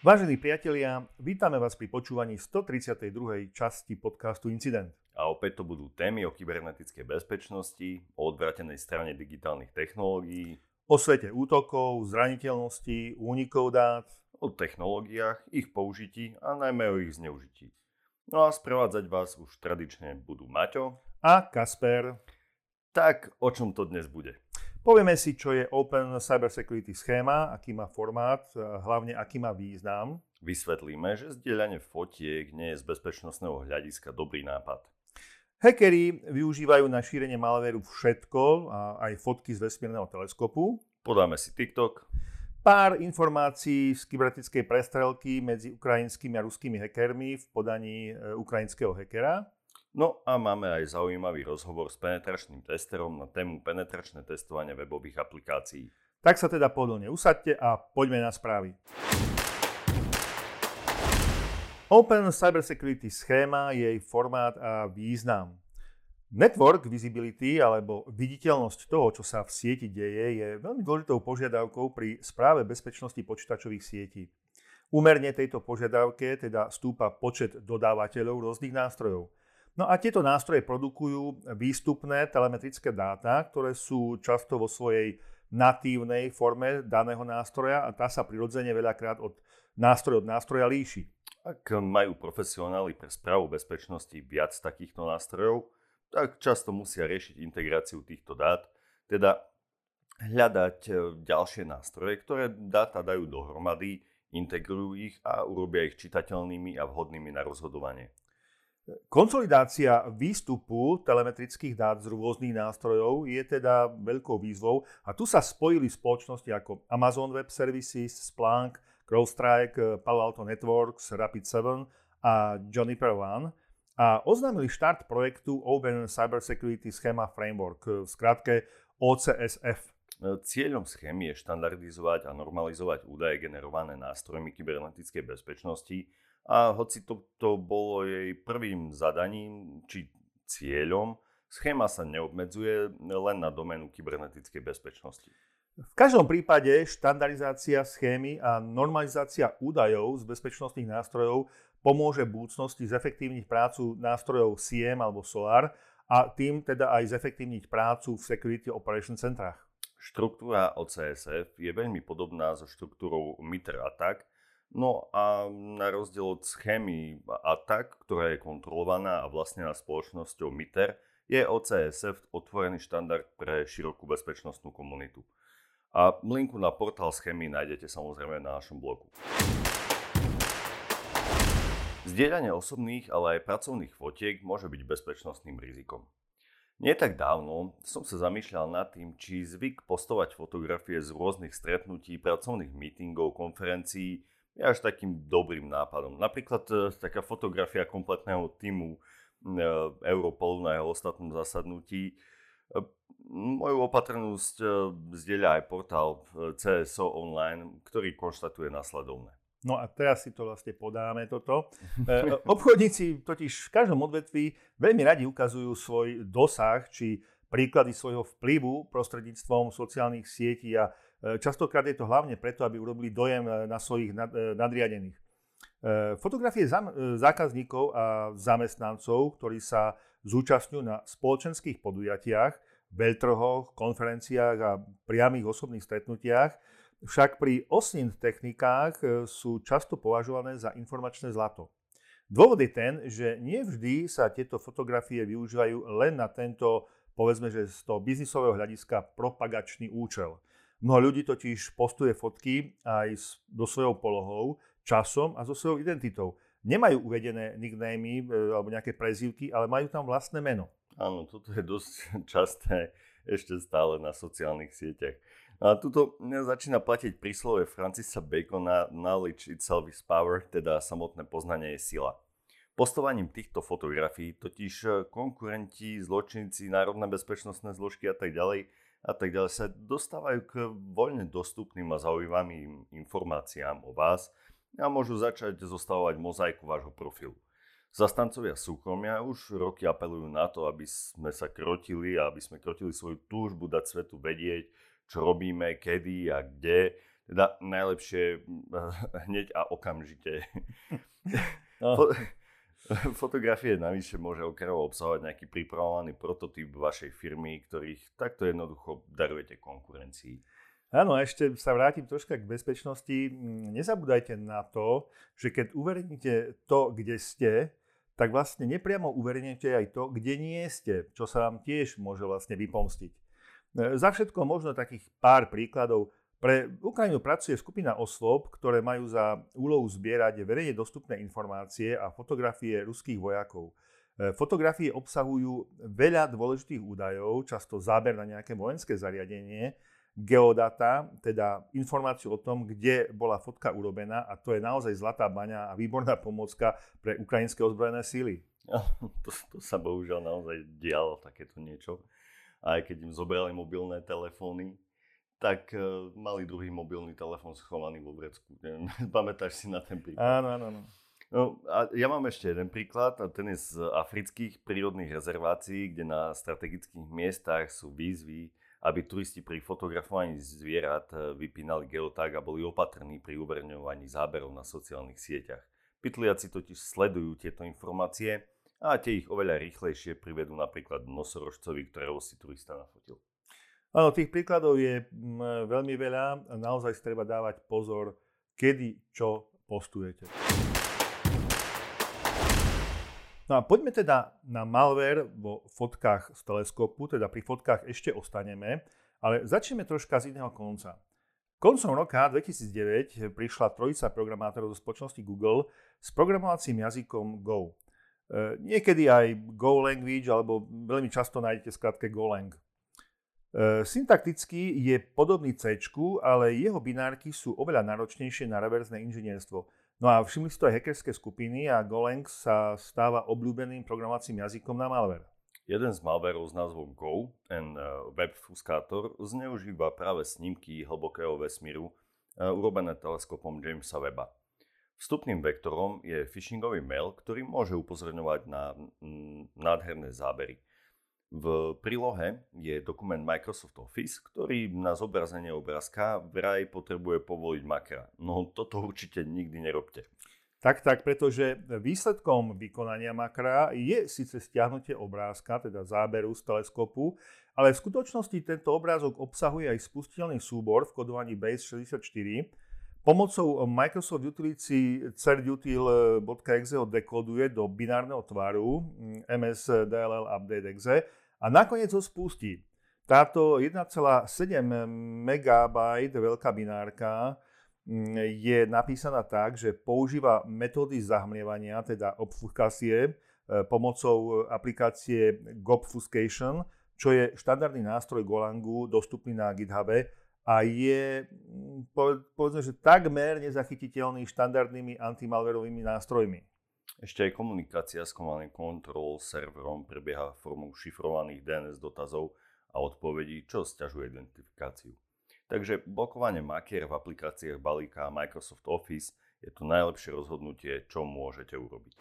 Vážení priatelia, vítame vás pri počúvaní 132. časti podcastu Incident. A opäť to budú témy o kybernetickej bezpečnosti, o odvrátenej strane digitálnych technológií, O svete útokov, zraniteľnosti, únikov dát, o technológiách, ich použití a najmä o ich zneužití. No a sprevádzať vás už tradične budú Maťo. a Kasper. Tak o čom to dnes bude? Povieme si, čo je Open Cybersecurity schéma, aký má formát, hlavne aký má význam. Vysvetlíme, že zdieľanie fotiek nie je z bezpečnostného hľadiska dobrý nápad. Hackeri využívajú na šírenie malvéru všetko, a aj fotky z vesmírneho teleskopu. Podáme si TikTok. Pár informácií z kybernetickej prestrelky medzi ukrajinskými a ruskými hackermi v podaní ukrajinského hackera. No a máme aj zaujímavý rozhovor s penetračným testerom na tému penetračné testovanie webových aplikácií. Tak sa teda pohodlne usaďte a poďme na správy. Open Cybersecurity schéma, jej formát a význam. Network visibility, alebo viditeľnosť toho, čo sa v sieti deje, je veľmi dôležitou požiadavkou pri správe bezpečnosti počítačových sietí. Úmerne tejto požiadavke teda stúpa počet dodávateľov rôznych nástrojov. No a tieto nástroje produkujú výstupné telemetrické dáta, ktoré sú často vo svojej natívnej forme daného nástroja a tá sa prirodzene veľakrát od nástroja líši. Ak majú profesionáli pre správu bezpečnosti viac takýchto nástrojov, tak často musia riešiť integráciu týchto dát, teda hľadať ďalšie nástroje, ktoré dáta dajú dohromady, integrujú ich a urobia ich čitateľnými a vhodnými na rozhodovanie. Konsolidácia výstupu telemetrických dát z rôznych nástrojov je teda veľkou výzvou a tu sa spojili spoločnosti ako Amazon Web Services, Splunk, CrowdStrike, Palo Alto Networks, Rapid7 a Juniper One a oznámili štart projektu Open Cybersecurity Schema Framework, v skratke OCSF. Cieľom schémy je štandardizovať a normalizovať údaje generované nástrojmi kybernetickej bezpečnosti a hoci to bolo jej prvým zadaním či cieľom, schéma sa neobmedzuje len na doménu kybernetickej bezpečnosti. V každom prípade štandardizácia schémy a normalizácia údajov z bezpečnostných nástrojov pomôže v budúcnosti zefektívniť prácu nástrojov SIEM alebo SOAR a tým teda aj zefektívniť prácu v Security Operation centrách. Štruktúra OCSF je veľmi podobná so štruktúrou MITRE ATT&CK, no a na rozdiel od schémy ATT&CK, ktorá je kontrolovaná a vlastnená spoločnosťou MITRE, je OCSF otvorený štandard pre širokú bezpečnostnú komunitu. A linku na portál schémy nájdete samozrejme na našom blogu. Zdieľanie osobných, ale aj pracovných fotiek môže byť bezpečnostným rizikom. Nie tak dávno som sa zamýšľal nad tým, či zvyk postovať fotografie z rôznych stretnutí, pracovných meetingov, konferencií je až takým dobrým nápadom. Napríklad taká fotografia kompletného tímu Europolu na jeho ostatnom zasadnutí. Moju opatrnosť zdieľa aj portál CSO Online, ktorý konštatuje nasledovné. No a teraz si to vlastne podáme toto. Obchodníci totiž v každom odvetví veľmi radi ukazujú svoj dosah či príklady svojho vplyvu prostredníctvom sociálnych sietí a častokrát je to hlavne preto, aby urobili dojem na svojich nadriadených. Fotografie zákazníkov a zamestnancov, ktorí sa zúčastňujú na spoločenských podujatiach, veľtrhoch, konferenciách a priamých osobných stretnutiach, však pri OSINT technikách sú často považované za informačné zlato. Dôvod je ten, že nie vždy sa tieto fotografie využívajú len na tento, povedzme, že z toho biznisového hľadiska propagačný účel. Mnoho ľudí totiž postuje fotky aj so svojou polohou, časom a so svojou identitou. Nemajú uvedené nicknamy alebo nejaké prezývky, ale majú tam vlastné meno. Áno, toto je dosť časté ešte stále na sociálnych sieťach. A tuto začína platiť príslovie Francisa Bacona knowledge itself is power, teda samotné poznanie je sila. Postovaním týchto fotografií totiž konkurenti, zločinci, národné bezpečnostné zložky a tak ďalej sa dostávajú k voľne dostupným a zaujímavým informáciám o vás a môžu začať zostavovať mozaiku vášho profilu. Zastancovia súkromia už roky apelujú na to, aby sme sa krotili a aby sme krotili svoju túžbu dať svetu vedieť, čo robíme, kedy a kde, Teda najlepšie hneď a okamžite. No. Fotografie navyše môže okrajovo obsahovať nejaký pripravovaný prototyp vašej firmy, ktorých takto jednoducho darujete konkurencii. Áno, ešte sa vrátim troška k bezpečnosti. Nezabúdajte na to, že keď uverejníte to, kde ste, tak vlastne nepriamo uverejníte aj to, kde nie ste, čo sa vám tiež môže vlastne vypomstiť. Za všetko možno takých pár príkladov. Pre Ukrajinu pracuje skupina osôb, ktoré majú za úlohu zbierať verejne dostupné informácie a fotografie ruských vojakov. Fotografie obsahujú veľa dôležitých údajov, často záber na nejaké vojenské zariadenie, geodata, teda informáciu o tom, kde bola fotka urobená, a to je naozaj zlatá baňa a výborná pomôcka pre ukrajinské ozbrojené síly. To sa bohužiaľ naozaj dialo takéto niečo. Aj keď im zobrali mobilné telefóny, tak mali druhý mobilný telefón schovaný vo vrecku. Pamätáš si na ten príklad? Áno. No, a ja mám ešte jeden príklad, a ten je z afrických prírodných rezervácií, kde na strategických miestach sú výzvy, aby turisti pri fotografovaní zvierat vypínali geotag a boli opatrní pri uverejňovaní záberov na sociálnych sieťach. Pytliaci totiž sledujú tieto informácie a tie ich oveľa rýchlejšie privedú napríklad nosorožcovi, ktorého si turista nafotil. Áno, tých príkladov je veľmi veľa a naozaj si treba dávať pozor, kedy čo postujete. No a poďme teda na malware vo fotkách z teleskopu, teda pri fotkách ešte ostaneme, ale začneme troška z iného konca. Koncom roka 2009 prišla trojica programátorov zo spoločnosti Google s programovacím jazykom Go. Niekedy aj Go language, alebo veľmi často nájdete skratke Golang. Syntakticky je podobný C, ale jeho binárky sú oveľa náročnejšie na reverzné inžinierstvo. No a všimli si to aj hackerské skupiny a Golang sa stáva obľúbeným programovacím jazykom na malware. Jeden z malwareov s názvom Go and Webfuscator zneužíva práve snímky hlbokého vesmíru urobené teleskopom Jamesa Webba. Vstupným vektorom je phishingový mail, ktorý môže upozorňovať na nádherné zábery. V prílohe je dokument Microsoft Office, ktorý na zobrazenie obrázka vraj potrebuje povoliť makra. No toto určite nikdy nerobte. Tak, pretože výsledkom vykonania makra je síce stiahnutie obrázka, teda záberu z teleskopu, ale v skutočnosti tento obrázok obsahuje aj spustiteľný súbor v kodovaní Base64. Pomocou Microsoft Utility certutil.exe ho dekoduje do binárneho tvaru MS-DLL update exe a nakoniec ho spustí. Táto 1,7 MB veľká binárka je napísaná tak, že používa metódy zahmlievania, teda obfuskácie, pomocou aplikácie Gobfuscation, čo je štandardný nástroj Golangu dostupný na GitHube a je, povedzme, že takmer nezachytiteľný štandardnými antimalverovými nástrojmi. Ešte aj komunikácia s Command & Control serverom prebieha formou šifrovaných DNS dotazov a odpovedí, čo sťažuje identifikáciu. Takže blokovanie makier v aplikáciách balíka Microsoft Office je to najlepšie rozhodnutie, čo môžete urobiť.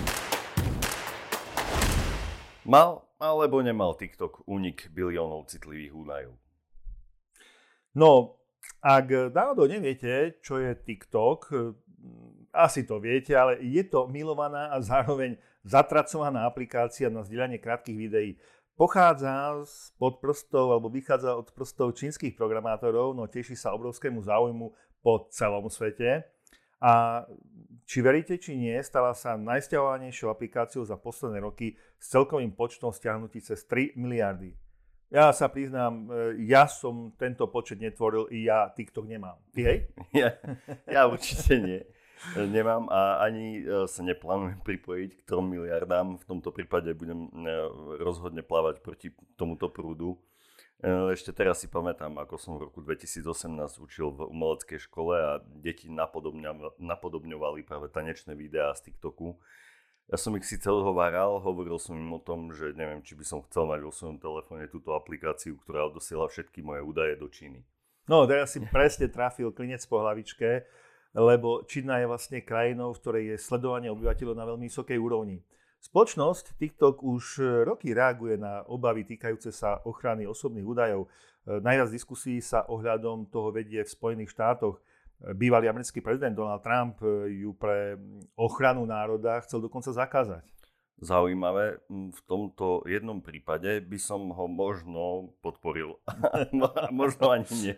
Mal alebo nemal TikTok únik biliónov citlivých údajov? No, ak náhodou neviete, čo je TikTok, asi to viete, ale je to milovaná a zároveň zatracovaná aplikácia na zdieľanie krátkych videí. Pochádza spod prstov alebo vychádza od prstov čínskych programátorov, no teší sa obrovskému záujmu po celom svete. A či veríte, či nie, stala sa najsťahovanejšou aplikáciou za posledné roky s celkovým počtom stiahnutí cez 3 miliardy. Ja sa priznám, ja som tento počet netvoril, i ja TikTok nemám. Ty hej? Ja určite nie. Nemám a ani sa neplánujem pripojiť k 3 miliardám. V tomto prípade budem rozhodne plávať proti tomuto prúdu. Ešte teraz si pamätám, ako som v roku 2018 učil v umeleckej škole a deti napodobňovali práve tanečné videá z TikToku. Ja som ich síce odhováral, hovoril som im o tom, že neviem, či by som chcel mať vo svojom telefóne túto aplikáciu, ktorá odosiela všetky moje údaje do Číny. No, teraz si presne trafil klinec po hlavičke, lebo Čína je vlastne krajinou, v ktorej je sledovanie obyvateľov na veľmi vysokej úrovni. Spoločnosť TikTok už roky reaguje na obavy týkajúce sa ochrany osobných údajov. Najviac diskusí sa ohľadom toho vedie v Spojených štátoch. Bývalý americký prezident Donald Trump ju pre ochranu národa chcel dokonca zakázať. Zaujímavé, v tomto jednom prípade by som ho možno podporil. Možno ani nie.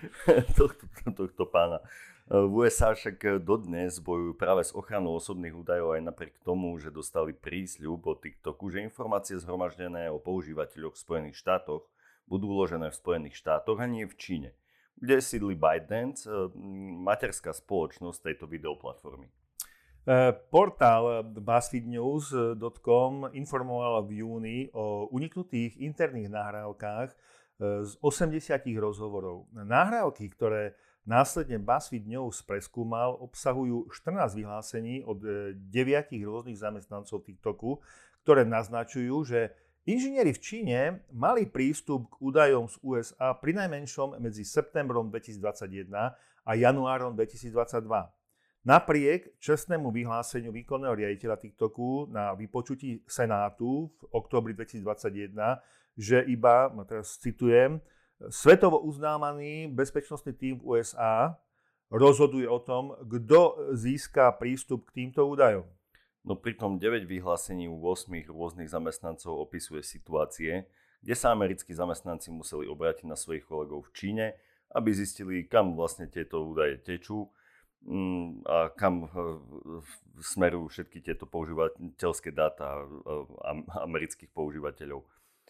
tohto pána. V USA však dodnes bojujú práve s ochranou osobných údajov aj napriek tomu, že dostali prísľub od TikToku, že informácie zhromaždené o používateľoch v Spojených štátoch budú uložené v Spojených štátoch a nie v Číne, kde sídli ByteDance, materská spoločnosť tejto videoplatformy. Portál BuzzFeedNews.com informoval v júni o uniknutých interných nahrávkach z 80 rozhovorov. Nahrávky, ktoré následne BuzzFeed News preskúmal, obsahujú 14 vyhlásení od 9 rôznych zamestnancov TikToku, ktoré naznačujú, že inžinieri v Číne mali prístup k údajom z USA prinajmenšom medzi septembrom 2021 a januárom 2022. Napriek čestnému vyhláseniu výkonného riaditeľa TikToku na vypočutí Senátu v októbri 2021, že iba, teraz citujem, svetovo uznávaný bezpečnostný tím v USA rozhoduje o tom, kto získa prístup k týmto údajom. No pritom 9 vyhlásení u 8 rôznych zamestnancov opisuje situácie, kde sa americkí zamestnanci museli obrátiť na svojich kolegov v Číne, aby zistili, kam vlastne tieto údaje tečú a kam smerujú všetky tieto používateľské dáta amerických používateľov.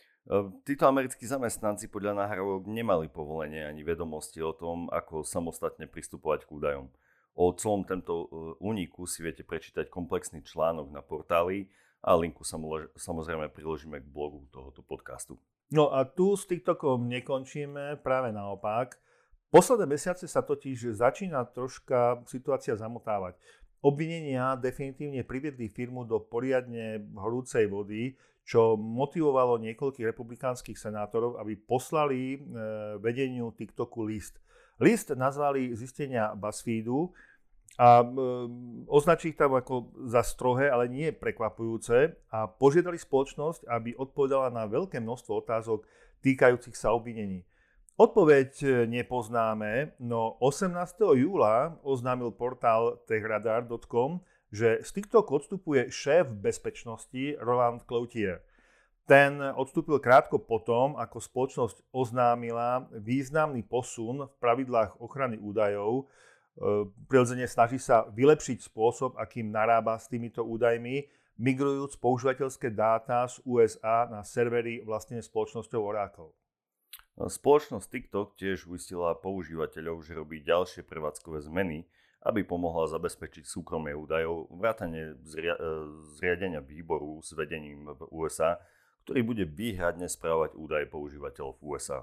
Títo americkí zamestnanci podľa nahrávok nemali povolenie ani vedomosti o tom, ako samostatne pristupovať k údajom. O celom tomto úniku si viete prečítať komplexný článok na portáli a linku samozrejme priložíme k blogu tohoto podcastu. No a tu s TikTokom nekončíme, práve naopak. Posledné mesiace sa totiž začína troška situácia zamotávať. Obvinenia definitívne priviedli firmu do poriadne horúcej vody, čo motivovalo niekoľkých republikánskych senátorov, aby poslali vedeniu TikToku list. List nazvali zistenia BuzzFeedu a označili ich tam ako za strohé, ale nie prekvapujúce a požiadali spoločnosť, aby odpovedala na veľké množstvo otázok týkajúcich sa obvinení. Odpoveď nepoznáme, no 18. júla oznámil portál techradar.com, že z TikToku odstupuje šéf bezpečnosti Roland Cloutier. Ten odstúpil krátko potom, ako spoločnosť oznámila významný posun v pravidlách ochrany údajov. Prirodzene snaží sa vylepšiť spôsob, akým narába s týmito údajmi, migrujúc používateľské dáta z USA na servery vlastnené spoločnosťou Oracle. Spoločnosť TikTok tiež uistila používateľov, že robí ďalšie prevádzkové zmeny, aby pomohla zabezpečiť súkromie údajov, vrátane zriadenia výboru s vedením v USA, ktorý bude výhradne správovať údaje používateľov v USA.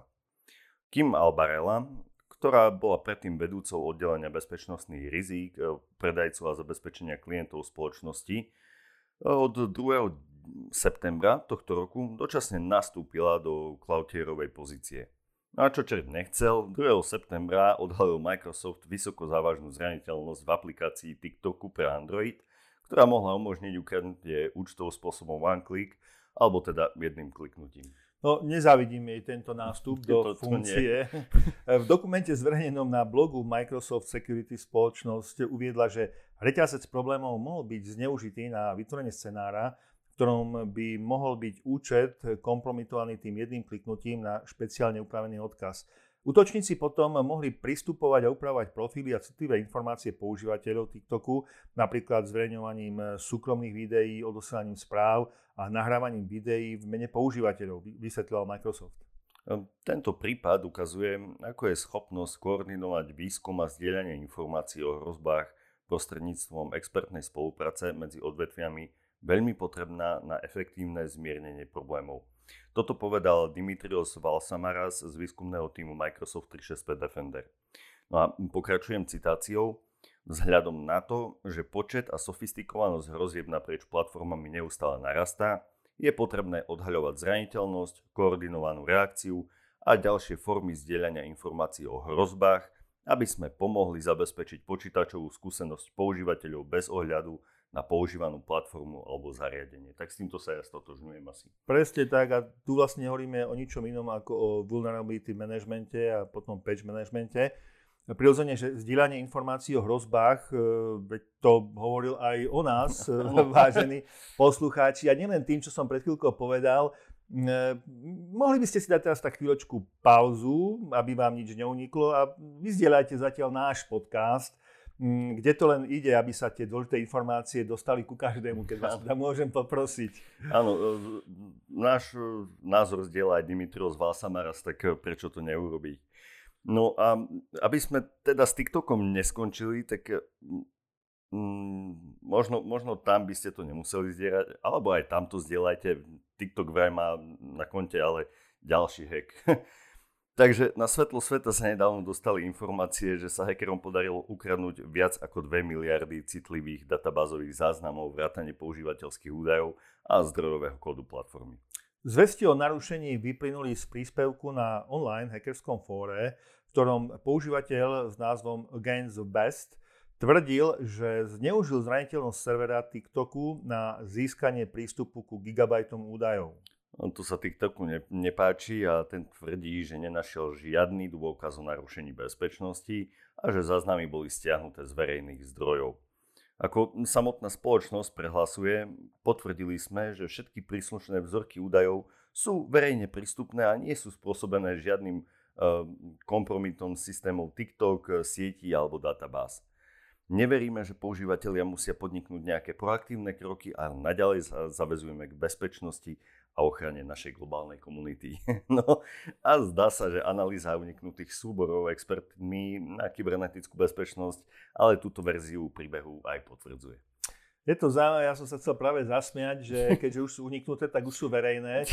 Kim Albarella, ktorá bola predtým vedúcou oddelenia bezpečnostných rizík, predajcu a zabezpečenia klientov spoločnosti, od 2. septembra tohto roku dočasne nastúpila do Cloutierovej pozície. A čo čert nechcel, 2. septembra odhalil Microsoft vysoko závažnú zraniteľnosť v aplikácii TikToku pre Android, ktorá mohla umožniť ukradnutie účtov spôsobom one click, alebo teda jedným kliknutím. No, nezávidím jej tento nástup do funkcie. V dokumente zverejnenom na blogu Microsoft Security spoločnosť uviedla, že reťazec problémov mohol byť zneužitý na vytvorenie scenára, v ktorom by mohol byť účet kompromitovaný tým jedným kliknutím na špeciálne upravený odkaz. Útočníci potom mohli pristupovať a upravovať profily a citlivé informácie používateľov TikToku, napríklad zverejňovaním súkromných videí, odosielaním správ a nahrávaním videí v mene používateľov, vysvetlil Microsoft. Tento prípad ukazuje, ako je schopnosť koordinovať výskum a zdieľanie informácií o hrozbách prostredníctvom expertnej spolupráce medzi odvetviami veľmi potrebná na efektívne zmiernenie problémov. Toto povedal Dimitrios Valsamaras z výskumného týmu Microsoft 365 Defender. No a pokračujem citáciou. Vzhľadom na to, že počet a sofistikovanosť hrozieb naprieč platformami neustále narastá, je potrebné odhaľovať zraniteľnosť, koordinovanú reakciu a ďalšie formy zdieľania informácií o hrozbách, aby sme pomohli zabezpečiť počítačovú skúsenosť používateľov bez ohľadu na používanú platformu alebo zariadenie. Tak s týmto sa ja stotožňujem asi. Presne tak a tu vlastne hovoríme o ničom inom ako o vulnerability managemente a potom patch managemente. Prirodzene, že zdieľanie informácií o hrozbách, veď to hovoril aj o nás, vážení poslucháči, a nielen tým, čo som pred chvíľkou povedal. Mohli by ste si dať teraz tak chvíľočku pauzu, aby vám nič neuniklo a vyzdieľajte zatiaľ náš podcast, kde to len ide, aby sa tie dôležité informácie dostali ku každému, keď vás teda môžem poprosiť. Áno, náš názor zdieľa aj Dimitrios Valsamaras, tak prečo to neurobiť? No a aby sme teda s TikTokom neskončili, tak možno tam by ste to nemuseli zdieľať, alebo aj tam to zdieľajte. TikTok vraj má na konte ale ďalší hack. Takže na svetlo sveta sa nedávno dostali informácie, že sa hackerom podarilo ukradnúť viac ako 2 miliardy citlivých databázových záznamov, vrátane používateľských údajov a zdrojového kódu platformy. Zvesti o narušení vyplynuli z príspevku na online hackerskom fóre, v ktorom používateľ s názvom Against the Best tvrdil, že zneužil zraniteľnosť servera TikToku na získanie prístupu ku gigabajtom údajov. To sa TikToku nepáči a ten tvrdí, že nenašiel žiadny dôkaz o narušení bezpečnosti a že záznamy boli stiahnuté z verejných zdrojov. Ako samotná spoločnosť prehlasuje, potvrdili sme, že všetky príslušné vzorky údajov sú verejne prístupné a nie sú spôsobené žiadnym kompromitom systémov TikTok, sietí alebo databáz. Neveríme, že používatelia musia podniknúť nejaké proaktívne kroky a naďalej sa zaväzujeme k bezpečnosti a ochrane našej globálnej komunity. No a zdá sa, že analýza uniknutých súborov expertmi na kybernetickú bezpečnosť, ale túto verziu príbehu aj potvrdzuje. Je to zaujímavé, ja som sa chcel práve zasmiať, že keďže už sú uniknuté, tak už sú verejné.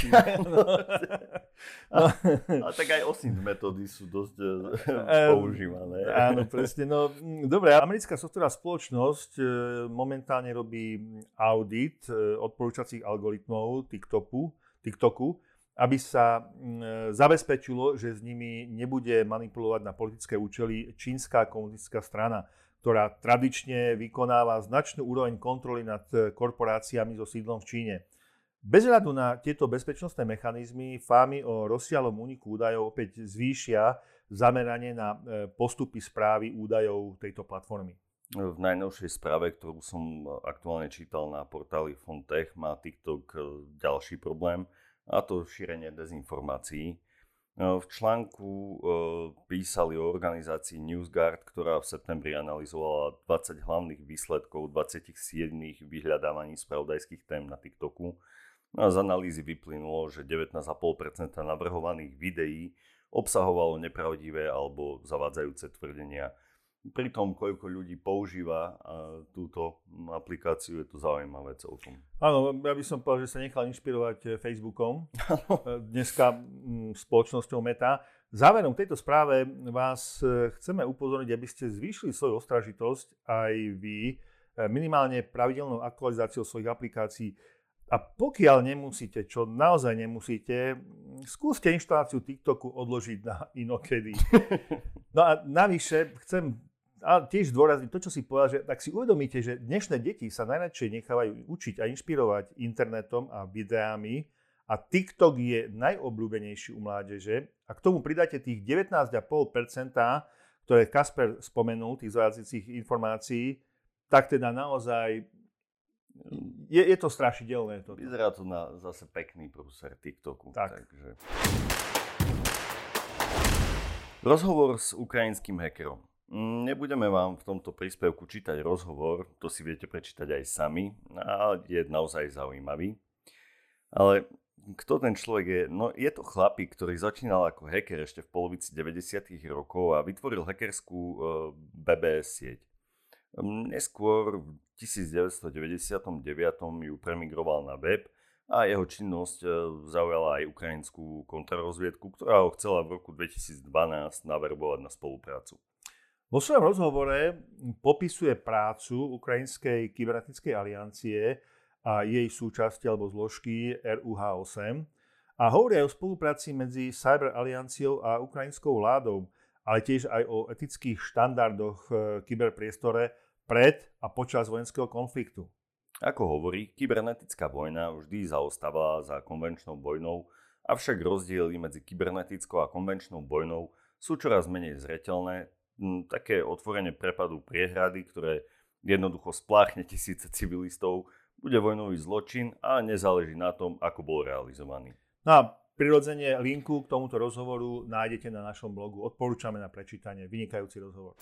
A tak aj OSINT metódy sú dosť používané. Áno, presne. No, dobre, americká softwarová spoločnosť momentálne robí audit odporúčacích algoritmov TikToku, aby sa zabezpečilo, že s nimi nebude manipulovať na politické účely čínska komunistická strana, ktorá tradične vykonáva značnú úroveň kontroly nad korporáciami so sídlom v Číne. Bez hľadu na tieto bezpečnostné mechanizmy fámy o rozsiahlom úniku údajov opäť zvýšia zameranie na postupy správy údajov tejto platformy. V najnovšej správe, ktorú som aktuálne čítal na portáli Fontech, má TikTok ďalší problém, a to šírenie dezinformácií. V článku písali o organizácii NewsGuard, ktorá v septembri analyzovala 20 hlavných výsledkov 27 vyhľadávaní spravodajských tém na TikToku. A z analýzy vyplynulo, že 19,5% navrhovaných videí obsahovalo nepravdivé alebo zavádzajúce tvrdenia. Pri tom, koľko ľudí používa túto aplikáciu, je to zaujímavé celkom. Áno, ja by som povedal, že sa nechal inšpirovať Facebookom, dneska spoločnosťou Meta. Záverom tejto správe vás chceme upozorniť, aby ste zvýšili svoju ostražitosť aj vy minimálne pravidelnou aktualizáciou svojich aplikácií. A pokiaľ nemusíte, čo naozaj nemusíte, skúste inštaláciu TikToku odložiť na inokedy. No a navyše chcem tiež zdôrazniť to, čo si povedal, že tak si uvedomíte, že dnešné deti sa najradšej nechávajú učiť a inšpirovať internetom a videami a TikTok je najobľúbenejší u mládeže a k tomu pridáte tých 19,5%, ktoré Kasper spomenul, tých zavádzajúcich informácií, tak teda naozaj je to strašidelné. Toto. Vyzerá to na zase pekný prúser TikToku. Tak. Takže. Rozhovor s ukrajinským hackerom. Nebudeme vám v tomto príspevku čítať rozhovor, to si viete prečítať aj sami, ale je naozaj zaujímavý. Ale kto ten človek je? No je to chlapík, ktorý začínal ako hacker ešte v polovici 90. rokov a vytvoril hackerskú BBS sieť. Neskôr v 1999 ju premigroval na web a jeho činnosť zaujala aj ukrajinskú kontrarozviedku, ktorá ho chcela v roku 2012 naverbovať na spoluprácu. Vo svojom rozhovore popisuje prácu Ukrajinskej kybernetickej aliancie a jej súčasti alebo zložky RUH-8 a hovorí aj o spolupráci medzi Cyber Alianciou a ukrajinskou vládou, ale tiež aj o etických štandardoch v kyberpriestore pred a počas vojenského konfliktu. Ako hovorí, kybernetická vojna vždy zaostávala za konvenčnou vojnou, avšak rozdiely medzi kybernetickou a konvenčnou vojnou sú čoraz menej zreteľné. Také otvorene prepadú priehrady, ktoré jednoducho spláchne tisíce civilistov, bude vojnový zločin a nezáleží na tom, ako bol realizovaný. No a prirodzene linku k tomuto rozhovoru nájdete na našom blogu. Odporúčame na prečítanie. Vynikajúci rozhovor.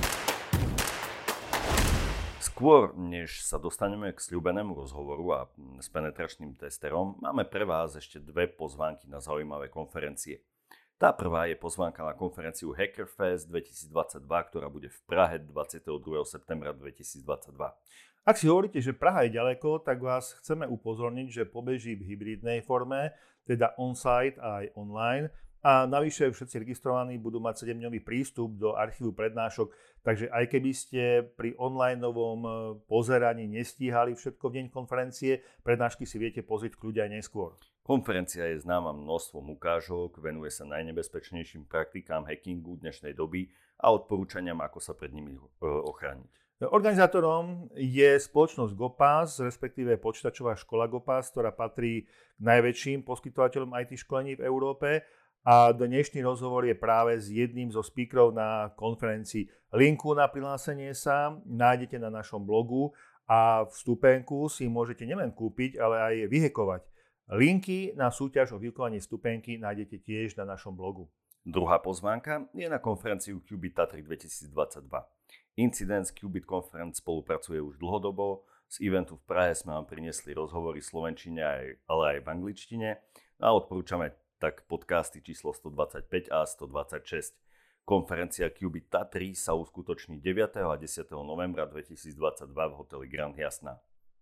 Skôr, než sa dostaneme k sľúbenému rozhovoru a s penetračným testerom, máme pre vás ešte dve pozvánky na zaujímavé konferencie. Tá prvá je pozvánka na konferenciu Hackerfest 2022, ktorá bude v Prahe 22. septembra 2022. Ak si hovoríte, že Praha je ďaleko, tak vás chceme upozorniť, že pobeží v hybridnej forme, teda on-site a aj online. A navyše všetci registrovaní budú mať 7-dňový prístup do archívu prednášok, takže aj keby ste pri onlineovom pozeraní nestíhali všetko v deň konferencie, prednášky si viete pozrieť kľudia aj neskôr. Konferencia je známa množstvom ukážok, venuje sa najnebezpečnejším praktikám hackingu dnešnej doby a odporúčaniam, ako sa pred nimi ochrániť. Organizátorom je spoločnosť GoPass, respektíve počítačová škola GoPass, ktorá patrí k najväčším poskytovateľom IT školení v Európe. A dnešný rozhovor je práve s jedným zo speakerov na konferencii. Linku na prihlásenie sa nájdete na našom blogu a vstupenku si môžete nielen kúpiť, ale aj vyhekovať. Linky na súťaž o vyhekovaní vstupenky nájdete tiež na našom blogu. Druhá pozvánka je na konferenciu Qubit Tatry 2022. Incidence Qubit Conference spolupracuje už dlhodobo. Z eventu v Prahe sme vám priniesli rozhovory v slovenčine, ale aj v angličtine a odporúčame tak podcasty číslo 125 a 126. Konferencia Qubit Tatry sa uskutoční 9. a 10. novembra 2022 v hoteli Grand Jasná.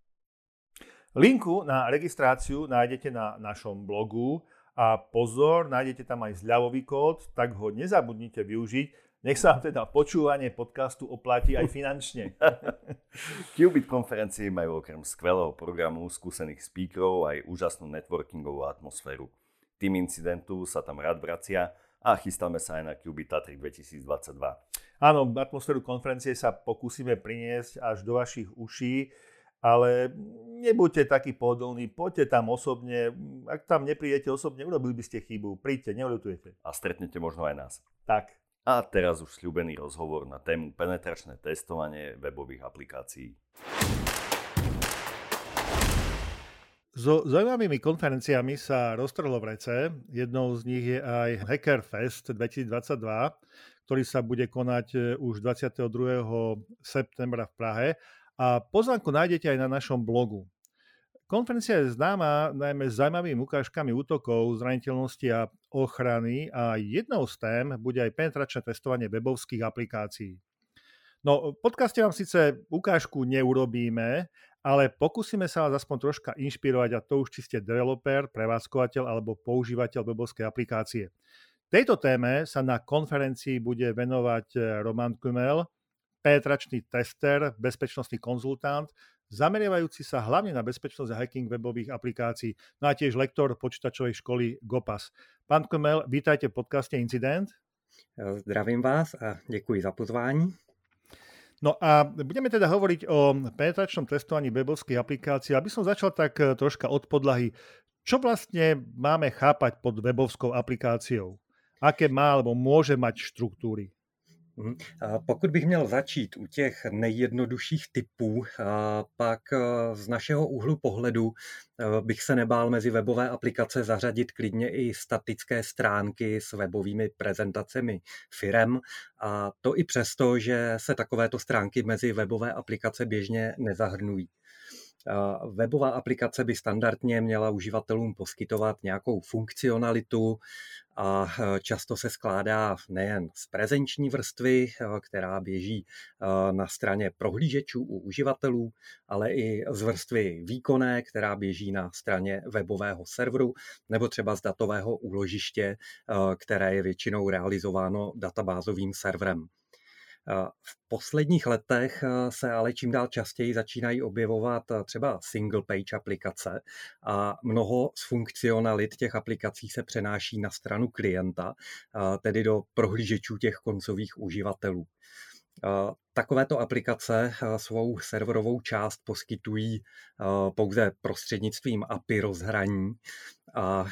Linku na registráciu nájdete na našom blogu a pozor, nájdete tam aj zľavový kód, tak ho nezabudnite využiť. Nech sa vám teda počúvanie podcastu oplatí aj finančne. Qubit konferencie majú okrem skvelého programu, skúsených speakerov aj úžasnú networkingovú atmosféru. Tým incidentu sa tam rád vracia a chystáme sa aj na Qubit Tatry 2022. Áno, atmosféru konferencie sa pokúsime priniesť až do vašich uší, ale nebuďte takí pohodlní, poďte tam osobne. Ak tam neprídete osobne, urobili by ste chybu. Príďte, neľutujete. A stretnete možno aj nás. Tak. A teraz už sľúbený rozhovor na tému penetračné testovanie webových aplikácií. So zaujímavými konferenciami sa roztrhlo v rece. Jednou z nich je aj Hackerfest 2022, ktorý sa bude konať už 22. septembra v Prahe. A pozvánku nájdete aj na našom blogu. Konferencia je známa najmä s zaujímavými ukážkami útokov, zraniteľnosti a ochrany a jednou z tém bude aj penetračné testovanie webovských aplikácií. No, v podcaste vám síce ukážku neurobíme, ale pokúsime sa vás aspoň troška inšpirovať, a to už či ste developer, prevádzkovateľ alebo používateľ webovskej aplikácie. Tejto téme sa na konferencii bude venovať Roman Kumel, penetračný tester, bezpečnostný konzultant, zameriavajúci sa hlavne na bezpečnosť a hacking webových aplikácií, no a tiež lektor počítačovej školy GoPass. Pán Kumel, vítajte v podcaste Incident. Zdravím vás a děkuji za pozvání. No a budeme teda hovoriť o penetračnom testovaní webovských aplikácií. Aby som začal tak troška od podlahy. Čo vlastne máme chápať pod webovskou aplikáciou? Aké má alebo môže mať štruktúry? Pokud bych měl začít u těch nejjednodušších typů, pak z našeho úhlu pohledu bych se nebál mezi webové aplikace zařadit klidně i statické stránky s webovými prezentacemi firem. A to i přesto, že se takovéto stránky mezi webové aplikace běžně nezahrnují. Webová aplikace by standardně měla uživatelům poskytovat nějakou funkcionalitu a často se skládá nejen z prezenční vrstvy, která běží na straně prohlížečů u uživatelů, ale i z vrstvy výkonné, která běží na straně webového serveru nebo třeba z datového úložiště, které je většinou realizováno databázovým serverem. V posledních letech se ale čím dál častěji začínají objevovat třeba single page aplikace a mnoho z funkcionalit těch aplikací se přenáší na stranu klienta, tedy do prohlížečů těch koncových uživatelů. Takovéto aplikace svou serverovou část poskytují pouze prostřednictvím API rozhraní a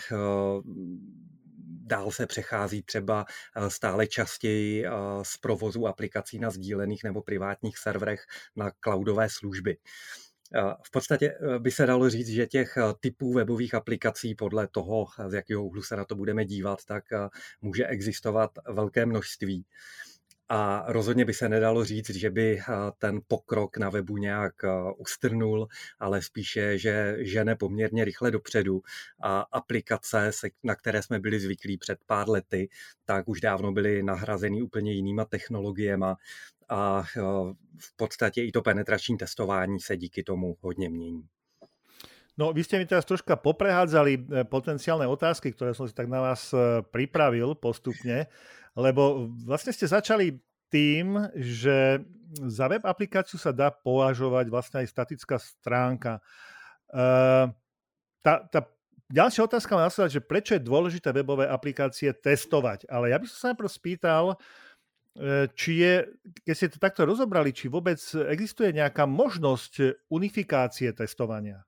dál se přechází třeba stále častěji z provozu aplikací na sdílených nebo privátních serverech na cloudové služby. V podstatě by se dalo říct, že těch typů webových aplikací podle toho, z jakého úhlu se na to budeme dívat, tak může existovat velké množství. A rozhodně by se nedalo říct, že by ten pokrok na webu nějak ustrnul, ale spíše, že žene poměrně rychle dopředu a aplikace, na které jsme byli zvyklí před pár lety, tak už dávno byly nahrazeny úplně jinýma technologiemi a v podstatě i to penetrační testování se díky tomu hodně mění. No, vy ste mi teraz troška poprehádzali potenciálne otázky, ktoré som si tak na vás pripravil postupne, lebo vlastne ste začali tým, že za web aplikáciu sa dá považovať vlastne aj statická stránka. Tá ďalšia otázka má nasledovať, že prečo je dôležité webové aplikácie testovať, ale ja by som sa najprv spýtal, či je, keď ste to takto rozobrali, či vôbec existuje nejaká možnosť unifikácie testovania?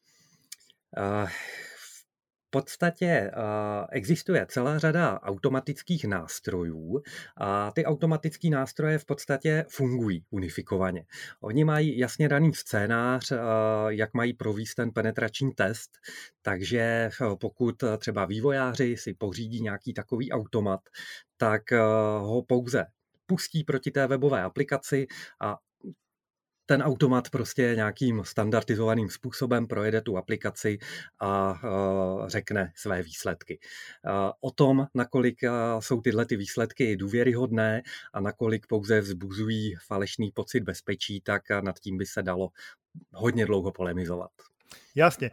V podstatě existuje celá řada automatických nástrojů a ty automatické nástroje v podstatě fungují unifikovaně. Oni mají jasně daný scénář, jak mají provést ten penetrační test, takže pokud třeba vývojáři si pořídí nějaký takový automat, tak ho pouze pustí proti té webové aplikaci a ten automat prostě nějakým standardizovaným způsobem projede tu aplikaci a řekne své výsledky. O tom, nakolik jsou tyhle ty výsledky důvěryhodné a nakolik pouze vzbuzují falešný pocit bezpečí, tak nad tím by se dalo hodně dlouho polemizovat. Jasne.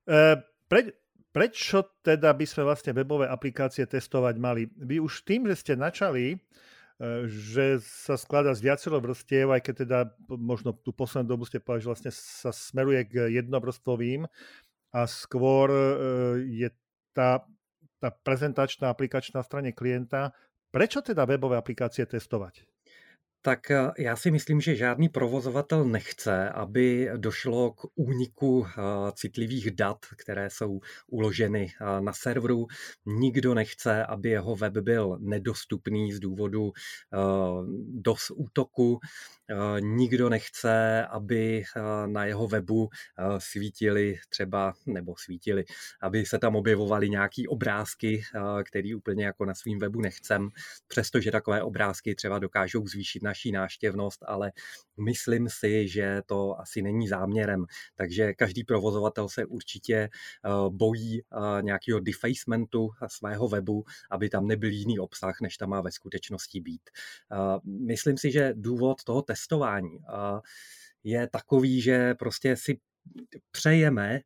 Prečo teda by sme vlastne webové aplikácie testovať mali? Vy už tým, že ste načali, že sa skladá z viacero vrstiev, aj keď teda možno tú poslednú dobu ste povedali, že vlastne sa smeruje k jednovrstvovým a skôr je tá prezentačná aplikačná strane klienta. Prečo teda webové aplikácie testovať? Tak já si myslím, že žádný provozovatel nechce, aby došlo k úniku citlivých dat, které jsou uloženy na serveru. Nikdo nechce, aby jeho web byl nedostupný z důvodu DOS útoku. Nikdo nechce, aby na jeho webu aby se tam objevovaly nějaký obrázky, který úplně jako na svým webu nechcem, přestože takové obrázky třeba dokážou zvýšit naší návštěvnost, ale myslím si, že to asi není záměrem. Takže každý provozovatel se určitě bojí nějakého defacementu svého webu, aby tam nebyl jiný obsah, než tam má ve skutečnosti být. Myslím si, že důvod toho testování je takový, že prostě si přejeme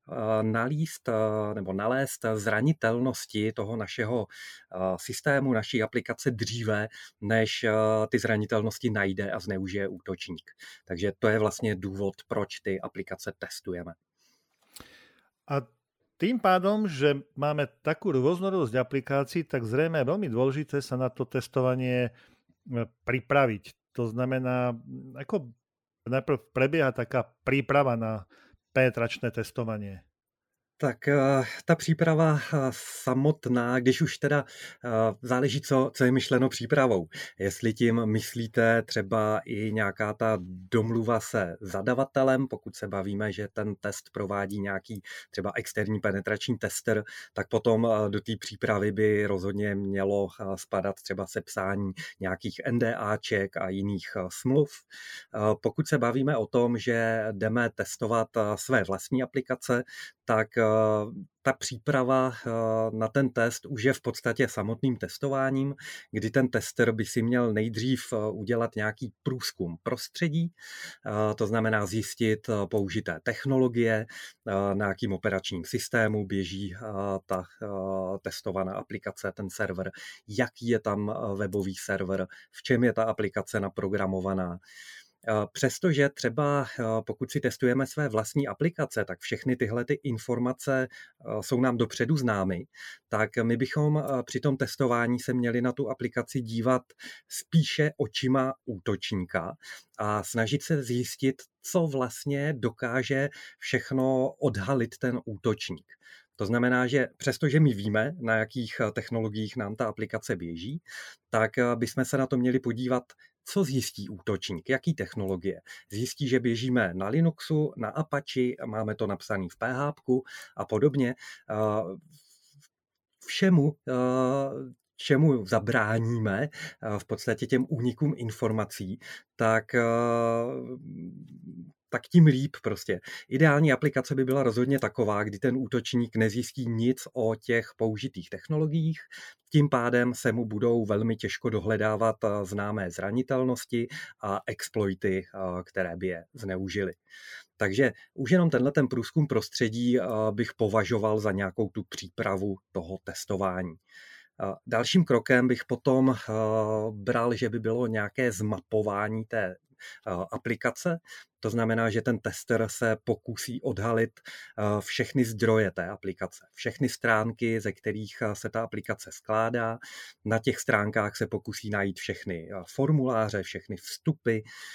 nalézt zranitelnosti toho našeho systému, naší aplikace dříve, než ty zranitelnosti najde a zneužije útočník. Takže to je vlastně důvod, proč ty aplikace testujeme. A tým pádom, že máme takú rôznorodosť aplikácií, tak zrejme je veľmi dôležité sa na to testovanie pripraviť. To znamená, ako najprv prebieha taká príprava na penetračné testovanie? Tak ta příprava samotná, když už teda záleží, co je myšleno přípravou. Jestli tím myslíte třeba i nějaká ta domluva se zadavatelem, pokud se bavíme, že ten test provádí nějaký třeba externí penetrační tester, tak potom do té přípravy by rozhodně mělo spadat třeba sepsání nějakých NDAček a jiných smluv. Pokud se bavíme o tom, že jdeme testovat své vlastní aplikace, tak ta příprava na ten test už je v podstatě samotným testováním, kdy ten tester by si měl nejdřív udělat nějaký průzkum prostředí, to znamená zjistit použité technologie, na jakým operačním systému běží ta testovaná aplikace, ten server, jaký je tam webový server, v čem je ta aplikace naprogramovaná. Přestože třeba pokud si testujeme své vlastní aplikace, tak všechny tyhle ty informace jsou nám dopředu známy, tak my bychom při tom testování se měli na tu aplikaci dívat spíše očima útočníka a snažit se zjistit, co vlastně dokáže všechno odhalit ten útočník. To znamená, že přestože my víme, na jakých technologiích nám ta aplikace běží, tak bychom se na to měli podívat, co zjistí útočník, jaký technologie. Zjistí, že běžíme na Linuxu, na Apache, máme to napsané v PHP a podobně. Všemu, čemu zabráníme v podstatě těm únikům informací, tak tím líp prostě. Ideální aplikace by byla rozhodně taková, kdy ten útočník nezjistí nic o těch použitých technologiích, tím pádem se mu budou velmi těžko dohledávat známé zranitelnosti a exploity, které by je zneužily. Takže už jenom ten průzkum prostředí bych považoval za nějakou tu přípravu toho testování. Dalším krokem bych potom bral, že by bylo nějaké zmapování té aplikace. To znamená, že ten tester se pokusí odhalit všechny zdroje té aplikace, všechny stránky, ze kterých se ta aplikace skládá. Na těch stránkách se pokusí najít všechny formuláře, všechny vstupy.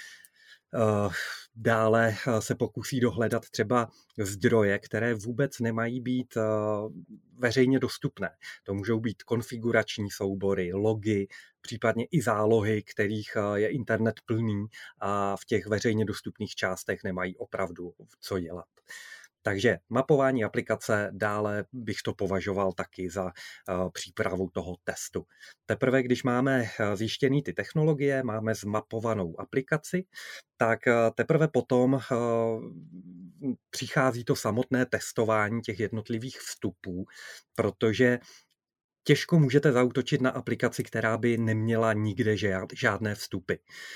Dále se pokusí dohledat třeba zdroje, které vůbec nemají být veřejně dostupné. To můžou být konfigurační soubory, logy, případně i zálohy, kterých je internet plný a v těch veřejně dostupných částech nemají opravdu co dělat. Takže mapování aplikace, dále bych to považoval taky za přípravu toho testu. Teprve, když máme zjištěný ty technologie, máme zmapovanou aplikaci, tak teprve potom přichází to samotné testování těch jednotlivých vstupů, protože těžko můžete zaútočit na aplikaci, která by neměla nikde žádné vstupy.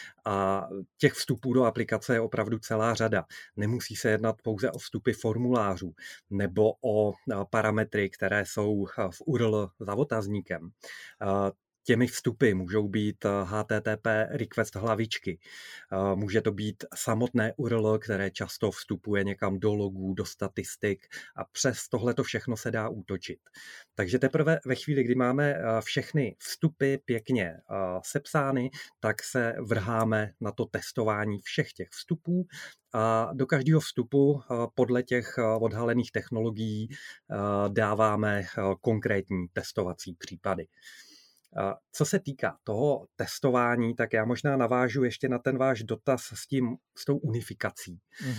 A těch vstupů do aplikace je opravdu celá řada. Nemusí se jednat pouze o vstupy formulářů nebo o parametry, které jsou v URL za otazníkem. Těmi vstupy můžou být HTTP request hlavičky, může to být samotné URL, které často vstupuje někam do logů, do statistik a přes tohleto všechno se dá útočit. Takže teprve ve chvíli, kdy máme všechny vstupy pěkně sepsány, tak se vrháme na to testování všech těch vstupů a do každého vstupu podle těch odhalených technologií dáváme konkrétní testovací případy. Co se týká toho testování, tak já možná navážu ještě na ten váš dotaz s tou unifikací,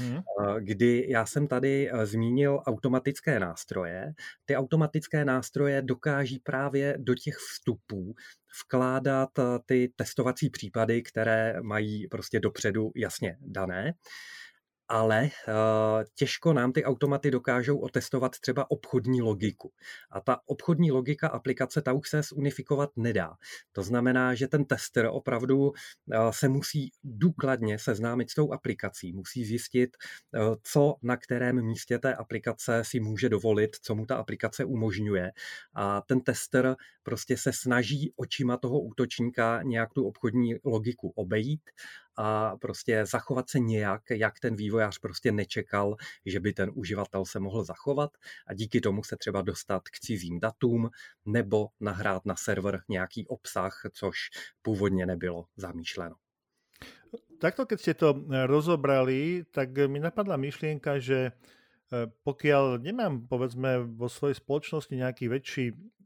kdy já jsem tady zmínil automatické nástroje. Ty automatické nástroje dokáží právě do těch vstupů vkládat ty testovací případy, které mají prostě dopředu jasně dané. Ale těžko nám ty automaty dokážou otestovat třeba obchodní logiku. A ta obchodní logika aplikace, ta už se zunifikovat nedá. To znamená, že ten tester opravdu se musí důkladně seznámit s tou aplikací, musí zjistit, co na kterém místě té aplikace si může dovolit, co mu ta aplikace umožňuje. A ten tester prostě se snaží očima toho útočníka nějak tu obchodní logiku obejít a prostě zachovat se nějak, jak ten vývojář prostě nečekal, že by ten uživatel se mohl zachovat a díky tomu se třeba dostat k cizím datům nebo nahrát na server nějaký obsah, což původně nebylo zamýšleno. Takto, keď ste to rozobrali, tak mi napadla myšlienka, že pokiaľ nemám, povedzme, vo svojej spoločnosti nejaký väčší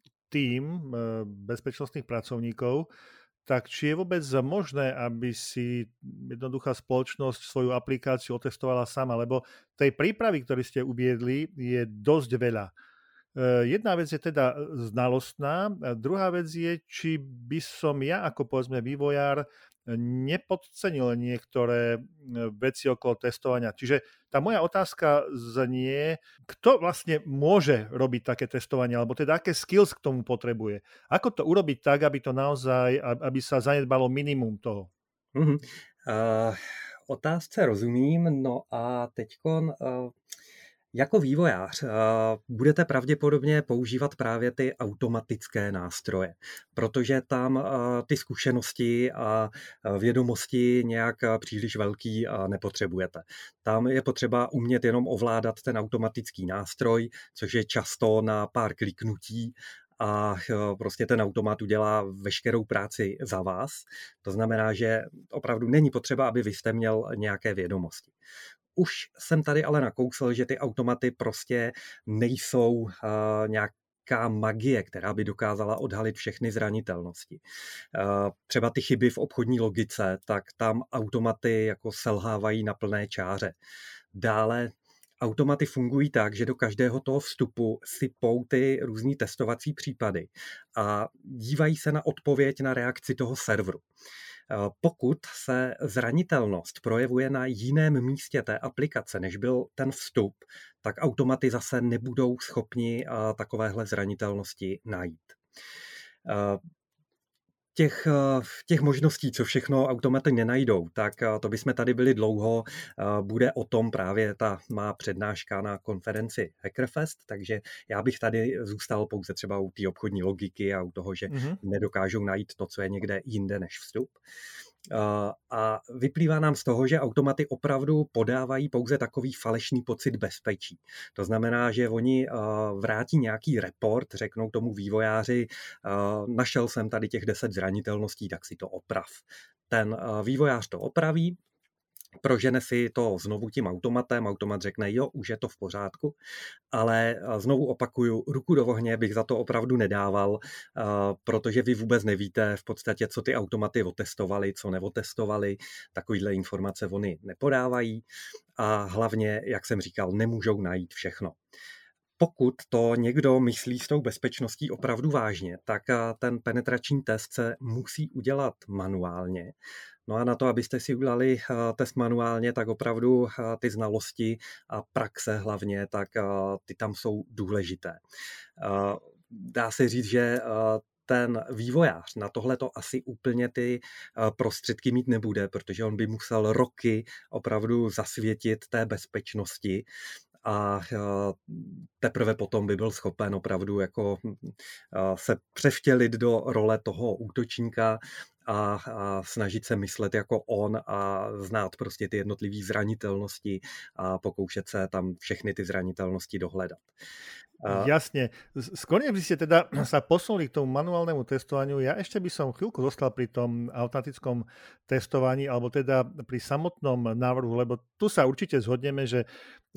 tím bezpečnostných pracovníkov, tak či je vôbec možné, aby si jednoduchá spoločnosť svoju aplikáciu otestovala sama, lebo tej prípravy, ktorú ste uviedli, je dosť veľa. Jedna vec je teda znalostná, a druhá vec je, či by som ja ako povedzme vývojár nepodcenil niektoré veci okolo testovania. Čiže tá moja otázka znie, kto vlastne môže robiť také testovanie, alebo teda aké skills k tomu potrebuje. Ako to urobiť tak, aby to naozaj, aby sa zanedbalo minimum toho? Otázce rozumím, no a teďkon Jako vývojář budete pravděpodobně používat právě ty automatické nástroje, protože tam ty zkušenosti a vědomosti nějak příliš velký nepotřebujete. Tam je potřeba umět jenom ovládat ten automatický nástroj, což je často na pár kliknutí a prostě ten automat udělá veškerou práci za vás. To znamená, že opravdu není potřeba, aby vy jste měl nějaké vědomosti. Už jsem tady ale nakousl, že ty automaty prostě nejsou nějaká magie, která by dokázala odhalit všechny zranitelnosti. Třeba ty chyby v obchodní logice, tak tam automaty jako selhávají na plné čáře. Dále automaty fungují tak, že do každého toho vstupu sypou ty různý testovací případy a dívají se na odpověď na reakci toho serveru. Pokud se zranitelnost projevuje na jiném místě té aplikace, než byl ten vstup, tak automaty zase nebudou schopni takovéhle zranitelnosti najít. Těch možností, co všechno automaty nenajdou, tak to bychom tady byli dlouho. Bude o tom právě ta má přednáška na konferenci Hackerfest, takže já bych tady zůstal pouze třeba u té obchodní logiky a u toho, že nedokážou najít to, co je někde jinde než vstup. A vyplývá nám z toho, že automaty opravdu podávají pouze takový falešný pocit bezpečí. To znamená, že oni vrátí nějaký report, řeknou tomu vývojáři, našel jsem tady těch 10 zranitelností, tak si to oprav. Ten vývojář to opraví, prožene si to znovu tím automatem, automat řekne, jo, už je to v pořádku, ale znovu opakuju, ruku do ohně bych za to opravdu nedával, protože vy vůbec nevíte v podstatě, co ty automaty otestovali, co neotestovali, takovýhle informace oni nepodávají a hlavně, jak jsem říkal, nemůžou najít všechno. Pokud to někdo myslí s tou bezpečností opravdu vážně, tak ten penetrační test se musí udělat manuálně. No a na to, abyste si udělali test manuálně, tak opravdu ty znalosti a praxe hlavně, tak ty tam jsou důležité. Dá se říct, že ten vývojář na tohle to asi úplně ty prostředky mít nebude, protože on by musel roky opravdu zasvětit té bezpečnosti a teprve potom by byl schopen opravdu jako se převtělit do role toho útočníka a snažit se myslet jako on a znát prostě ty jednotlivé zranitelnosti a pokoušet se tam všechny ty zranitelnosti dohledat. Jasne. Skôr by ste teda sa posunuli k tomu manuálnemu testovaniu. Ja ešte by som chvíľku zostal pri tom automatickom testovaní, alebo teda pri samotnom návrhu, lebo tu sa určite zhodneme, že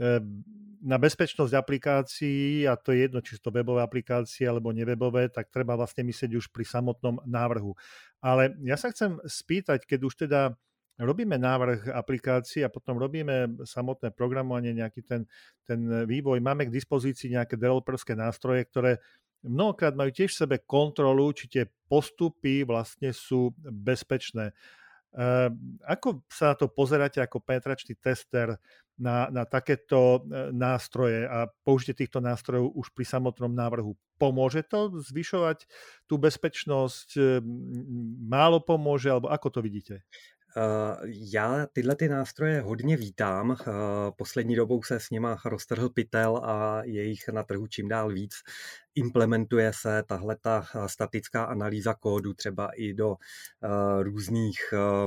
na bezpečnosť aplikácií, a to je jedno, či sú to webové aplikácie alebo nevebové, tak treba vlastne myslieť už pri samotnom návrhu. Ale ja sa chcem spýtať, keď už teda robíme návrh aplikácií a potom robíme samotné programovanie, nejaký ten vývoj, máme k dispozícii nejaké developerské nástroje, ktoré mnohokrát majú tiež v sebe kontrolu, či tie postupy vlastne sú bezpečné. Ako sa na to pozeráte ako penetračný tester na takéto nástroje a použitie týchto nástrojov už pri samotnom návrhu? Pomôže to zvyšovať tú bezpečnosť? Málo pomôže? Alebo ako to vidíte? Já tyhle ty nástroje hodně vítám. Poslední dobou se s nima roztrhl pytel a je jich na trhu čím dál víc. Implementuje se tahleta statická analýza kódu třeba i do různých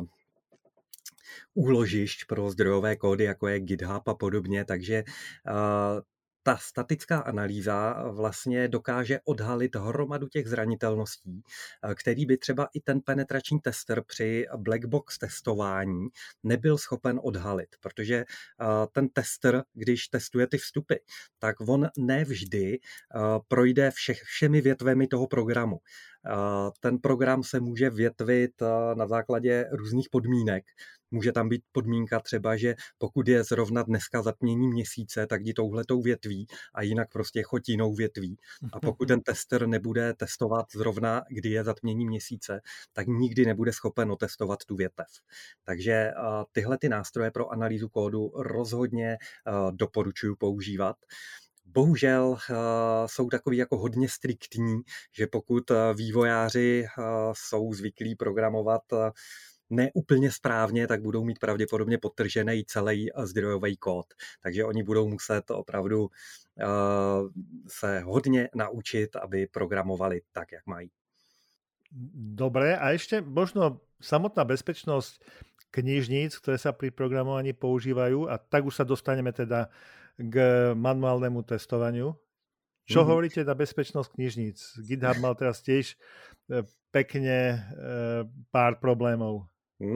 úložišť pro zdrojové kódy, jako je GitHub a podobně, takže ta statická analýza vlastně dokáže odhalit hromadu těch zranitelností, který by třeba i ten penetrační tester při black box testování nebyl schopen odhalit, protože ten tester, když testuje ty vstupy, tak on nevždy projde všemi větvemi toho programu. Ten program se může větvit na základě různých podmínek. Může tam být podmínka třeba, že pokud je zrovna dneska zatmění měsíce, tak jdi touhletou větví a jinak prostě choď jinou větví. A pokud ten tester nebude testovat zrovna, kdy je zatmění měsíce, tak nikdy nebude schopen otestovat tu větev. Takže tyhle ty nástroje pro analýzu kódu rozhodně doporučuji používat. Bohužel jsou takový jako hodně striktní, že pokud vývojáři jsou zvyklí programovat ne úplně správně, tak budou mít pravděpodobně podtržený celý zdrojový kód. Takže oni budou muset opravdu se hodně naučit, aby programovali tak, jak mají. Dobre, a ešte možno samotná bezpečnosť knižníc, ktoré sa pri programovaní používajú, a tak už sa dostaneme teda k manuálnemu testovaniu. Čo hovoríte na bezpečnosť knižníc? GitHub mal teraz tiež pekne pár problémov.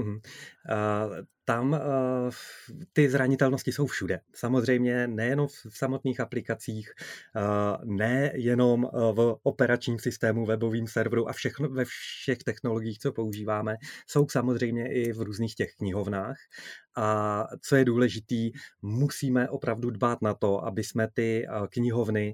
Tam ty zranitelnosti jsou všude. Samozřejmě nejenom v samotných aplikacích, nejenom v operačním systému, webovém serveru a všechno, ve všech technologiích, co používáme, jsou samozřejmě i v různých těch knihovnách. A co je důležitý, musíme opravdu dbát na to, aby jsme ty knihovny,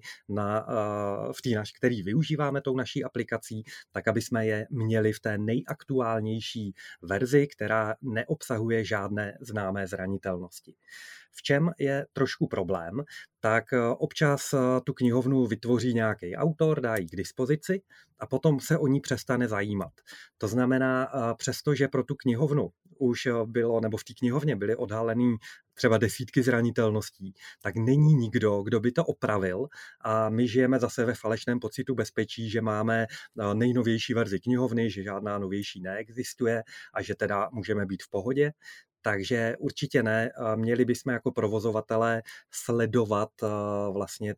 který využíváme tou naší aplikací, tak aby jsme je měli v té nejaktuálnější verzi, která neobsahuje žádné známé zranitelnosti. V čem je trošku problém, tak občas tu knihovnu vytvoří nějaký autor, dá ji k dispozici a potom se o ní přestane zajímat. To znamená, přestože pro tu knihovnu už bylo, nebo v té knihovně byly odhalený třeba desítky zranitelností, tak není nikdo, kdo by to opravil a my žijeme zase ve falešném pocitu bezpečí, že máme nejnovější verzi knihovny, že žádná novější neexistuje a že teda můžeme být v pohodě. Takže určitě ne. Měli bychom jako provozovatelé sledovat vlastně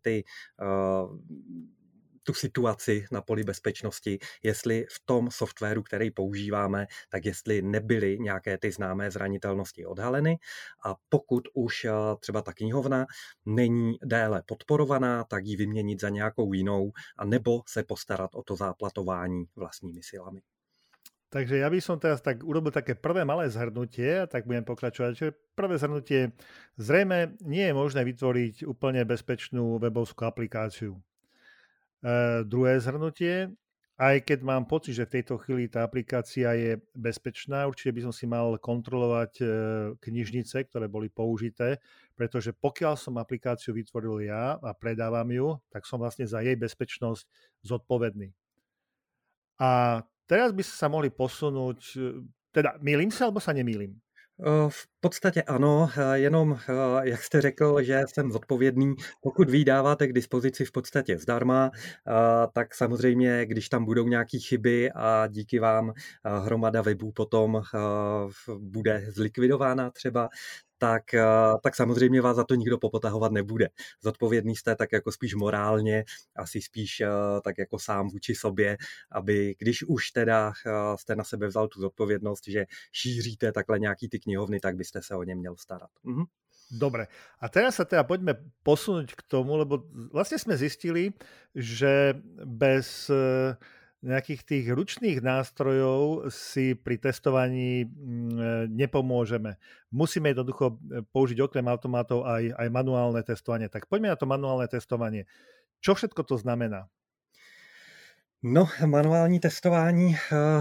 tu situaci na poli bezpečnosti, jestli v tom softwaru, který používáme, tak jestli nebyly nějaké ty známé zranitelnosti odhaleny a pokud už třeba ta knihovna není déle podporovaná, tak ji vyměnit za nějakou jinou a nebo se postarat o to záplatování vlastními silami. Takže ja by som teraz tak urobil také prvé malé zhrnutie a tak budem pokračovať. Čiže prvé zhrnutie, zrejme nie je možné vytvoriť úplne bezpečnú webovskú aplikáciu. Druhé zhrnutie, aj keď mám pocit, že v tejto chvíli tá aplikácia je bezpečná, určite by som si mal kontrolovať knižnice, ktoré boli použité, pretože pokiaľ som aplikáciu vytvoril ja a predávam ju, tak som vlastne za jej bezpečnosť zodpovedný. A teraz by sa mohli posunúť, teda mýlim sa, alebo sa nemýlim? V podstatě ano, jenom jak jste řekl, že jsem zodpovědný, pokud vy dáváte k dispozici v podstatě zdarma, tak samozřejmě, když tam budou nějaké chyby a díky vám hromada webů potom bude zlikvidována třeba, tak samozřejmě vás za to nikdo popotahovat nebude. Zodpovědný jste tak jako spíš morálně, asi spíš tak jako sám vůči sobě, aby když už teda jste na sebe vzal tu zodpovědnost, že šíříte takhle nějaký ty knihovny, tak byste se o ně měl starat. Dobre. A teraz sa teda poďme posunúť k tomu, lebo vlastne sme zistili, že bez nejakých tých ručných nástrojov si pri testovaní nepomôžeme. Musíme jednoducho použiť okrem automatov aj manuálne testovanie. Tak poďme na to manuálne testovanie. Čo všetko to znamená? No, manuální testování...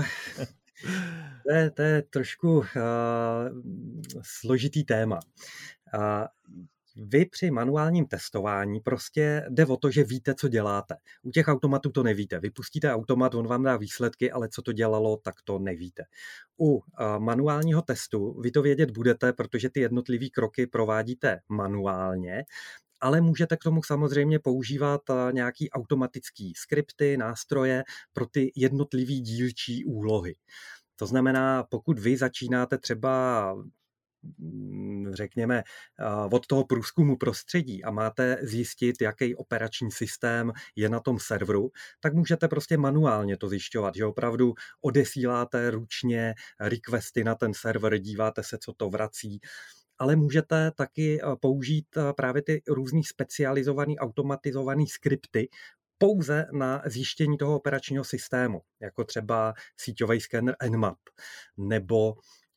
To je trošku složitý téma. Vy při manuálním testování prostě jde o to, že víte, co děláte. U těch automatů to nevíte. Vy pustíte automat, on vám dá výsledky, ale co to dělalo, tak to nevíte. U manuálního testu vy to vědět budete, protože ty jednotlivé kroky provádíte manuálně, ale můžete k tomu samozřejmě používat nějaký automatický skripty, nástroje pro ty jednotlivé dílčí úlohy. To znamená, pokud vy začínáte třeba řekněme, od toho průzkumu prostředí a máte zjistit, jaký operační systém je na tom serveru, tak můžete prostě manuálně to zjišťovat, že opravdu odesíláte ručně requesty na ten server, díváte se, co to vrací, ale můžete taky použít právě ty různý specializovaný, automatizovaný skripty pouze na zjištění toho operačního systému, jako třeba síťový skener Nmap, nebo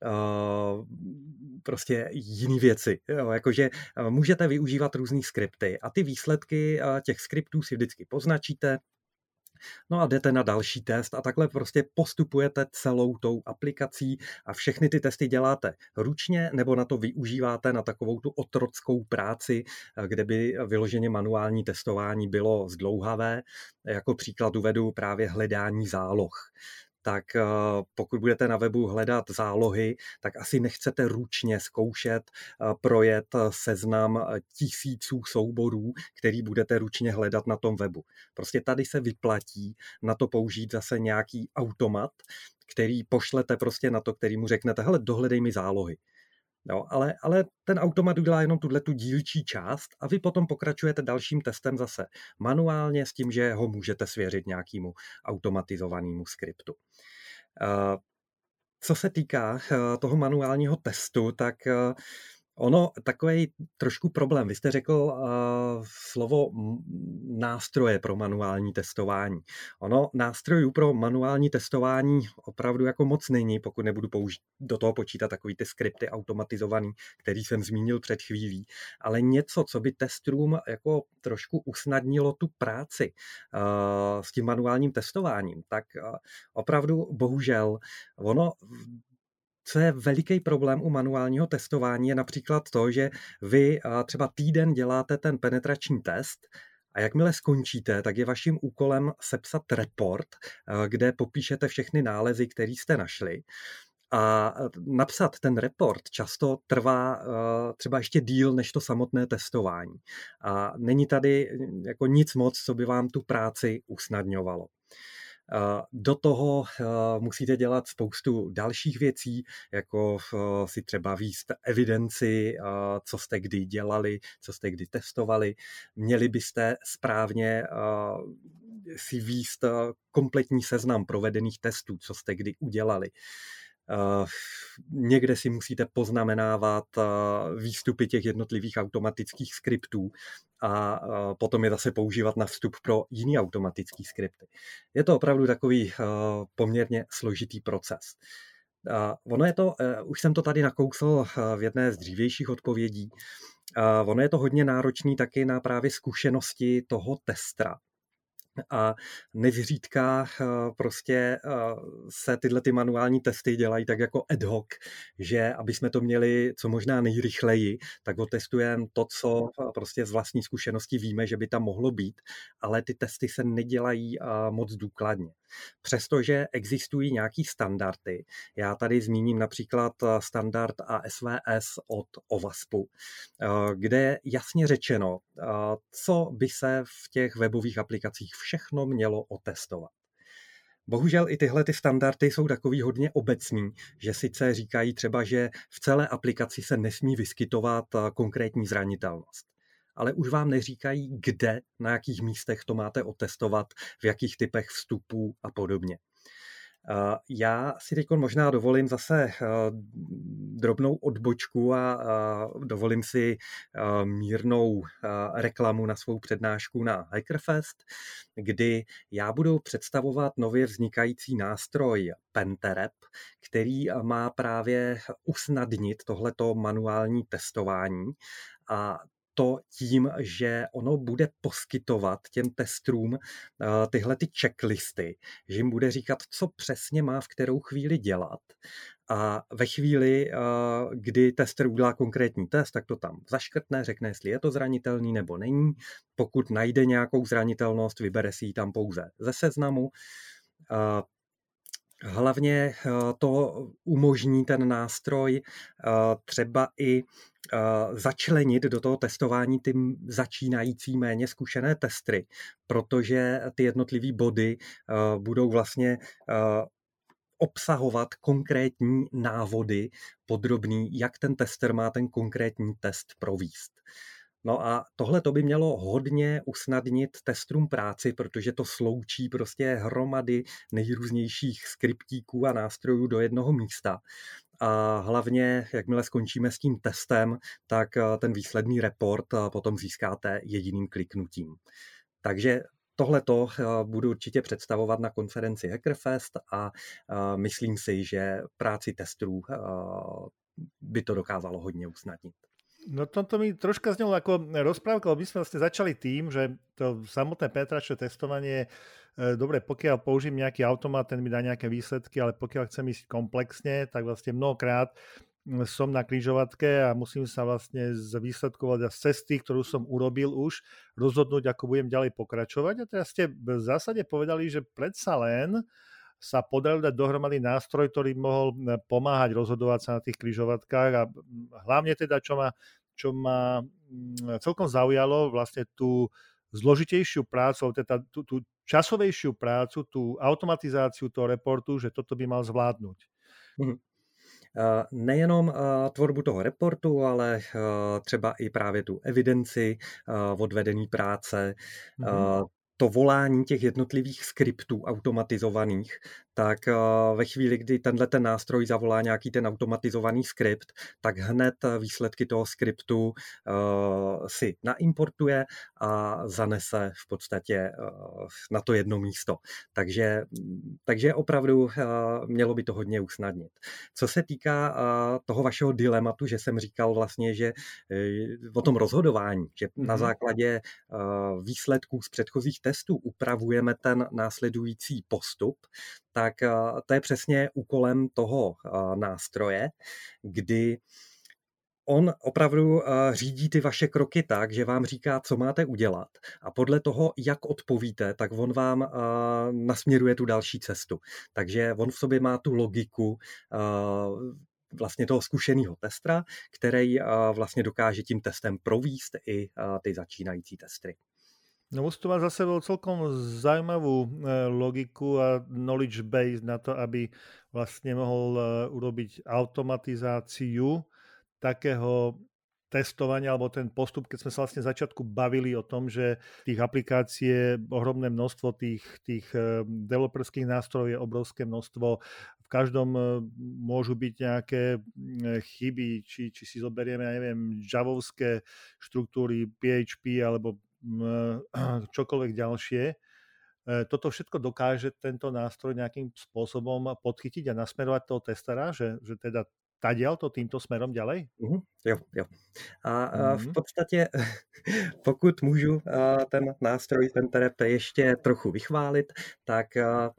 prostě jiné věci. Jo, jakože můžete využívat různý skripty a ty výsledky těch skriptů si vždycky poznačíte, no a jdete na další test a takhle prostě postupujete celou tou aplikací a všechny ty testy děláte ručně nebo na to využíváte na takovou tu otrockou práci, kde by vyloženě manuální testování bylo zdlouhavé. Jako příklad uvedu právě hledání záloh. tak pokud budete na webu hledat zálohy, tak asi nechcete ručně zkoušet projet seznam tisíců souborů, který budete ručně hledat na tom webu. Prostě tady se vyplatí na to použít zase nějaký automat, který pošlete prostě na to, který mu řeknete, hele, dohledej mi zálohy. No, ale ten automat udělá jenom tu dílčí část a vy potom pokračujete dalším testem zase manuálně s tím, že ho můžete svěřit nějakému automatizovanému skriptu. Co se týká toho manuálního testu, tak ono takový trošku problém. Vy jste řekl slovo nástroje pro manuální testování. Ono nástrojů pro manuální testování opravdu jako moc není, pokud nebudu do toho počítat takový ty skripty automatizovaný, který jsem zmínil před chvílí, ale něco, co by testům jako trošku usnadnilo tu práci s tím manuálním testováním, tak opravdu bohužel ono. Co je veliký problém u manuálního testování, je například to, že vy třeba týden děláte ten penetrační test a jakmile skončíte, tak je vaším úkolem sepsat report, kde popíšete všechny nálezy, které jste našli. A napsat ten report často trvá třeba ještě díl než to samotné testování. A není tady jako nic moc, co by vám tu práci usnadňovalo. Do toho musíte dělat spoustu dalších věcí, jako si třeba vést evidenci, co jste kdy dělali, co jste kdy testovali. Měli byste správně si vést kompletní seznam provedených testů, co jste kdy udělali. Někde si musíte poznamenávat výstupy těch jednotlivých automatických skriptů a potom je zase používat na vstup pro jiný automatický skripty. Je to opravdu takový poměrně složitý proces. Ono je to, už jsem to tady nakousl v jedné z dřívějších odpovědí, ono je to hodně náročný taky na právě zkušenosti toho testera. A nezřídka prostě se tyhle ty manuální testy dělají tak jako ad hoc, že aby jsme to měli co možná nejrychleji, tak otestujeme to, co prostě z vlastní zkušenosti víme, že by tam mohlo být, ale ty testy se nedělají moc důkladně. Přestože existují nějaký standardy, já tady zmíním například standard ASVS od OWASPu, kde je jasně řečeno, co by se v těch webových aplikacích všechno mělo otestovat. Bohužel i tyhle ty standardy jsou takový hodně obecný, že sice říkají třeba, že v celé aplikaci se nesmí vyskytovat konkrétní zranitelnost. Ale už vám neříkají, kde, na jakých místech to máte otestovat, v jakých typech vstupů a podobně. Já si teď možná dovolím zase drobnou odbočku a dovolím si mírnou reklamu na svou přednášku na Hackerfest, kdy já budu představovat nově vznikající nástroj Penterep, který má právě usnadnit tohleto manuální testování a to tím, že ono bude poskytovat těm testům tyhle ty checklisty, že jim bude říkat, co přesně má v kterou chvíli dělat. A ve chvíli, kdy tester udělá konkrétní test, tak to tam zaškrtne, řekne, jestli je to zranitelný nebo není. Pokud najde nějakou zranitelnost, vybere si ji tam pouze ze seznamu. Hlavně to umožní ten nástroj třeba i začlenit do toho testování ty začínající méně zkušené testery, protože ty jednotlivé body budou vlastně obsahovat konkrétní návody podrobný, jak ten tester má ten konkrétní test provést. No a tohle to by mělo hodně usnadnit testům práci, protože to sloučí prostě hromady nejrůznějších skriptíků a nástrojů do jednoho místa. A hlavně, jakmile skončíme s tím testem, tak ten výsledný report potom získáte jediným kliknutím. Takže tohleto budu určitě představovat na konferenci Hackerfest a myslím si, že práci testerů by to dokázalo hodně usnadnit. No toto mi troška znelo ako rozprávka, lebo my sme vlastne začali tým, že to samotné penetračné testovanie, dobre, pokiaľ použijem nejaký automat, ten mi dá nejaké výsledky, ale pokiaľ chcem ísť komplexne, tak vlastne mnohokrát som na križovatke a musím sa vlastne z výsledkov a z cesty, ktorú som urobil už, rozhodnúť, ako budem ďalej pokračovať. A teraz ste v zásade povedali, že predsa len sa podarilo dať dohromady nástroj, ktorý mohol pomáhať rozhodovať sa na tých križovatkách a hlavne teda, čo ma celkom zaujalo, vlastne tú zložitejšiu prácu, teda tú časovejšiu prácu, tú automatizáciu toho reportu, že toto by mal zvládnuť. Nejenom tvorbu toho reportu, ale třeba i právě tu evidenci odvedený práce, to volání těch jednotlivých skriptů automatizovaných, tak ve chvíli, kdy ten nástroj zavolá nějaký ten automatizovaný skript, tak hned výsledky toho skriptu si naimportuje a zanese v podstatě na to jedno místo. Takže opravdu mělo by to hodně usnadnit. Co se týká toho vašeho dilematu, že jsem říkal vlastně, že o tom rozhodování, že na základě výsledků z předchozích testů upravujeme ten následující postup, tak to je přesně úkolem toho nástroje, kdy on opravdu řídí ty vaše kroky tak, že vám říká, co máte udělat a podle toho, jak odpovíte, tak on vám nasměruje tu další cestu. Takže on v sobě má tu logiku vlastně toho zkušeného testera, který vlastně dokáže tím testem provést i ty začínající testy. No musí to mať za sebou celkom zaujímavú logiku a knowledge base na to, aby vlastne mohol urobiť automatizáciu takého testovania, alebo ten postup, keď sme sa vlastne v začiatku bavili o tom, že tých aplikácií je ohromné množstvo, tých developerských nástrojov je obrovské množstvo. V každom môžu byť nejaké chyby, či si zoberieme, ja neviem, javovské štruktúry, PHP alebo čokoľvek ďalšie. Toto všetko dokáže tento nástroj nejakým spôsobom podchytiť a nasmerovať toho testera, že teda tadiaľ to týmto smerom ďalej? Jo. A v podstatě, pokud můžu ten nástroj, ten TRP ještě trochu vychválit, tak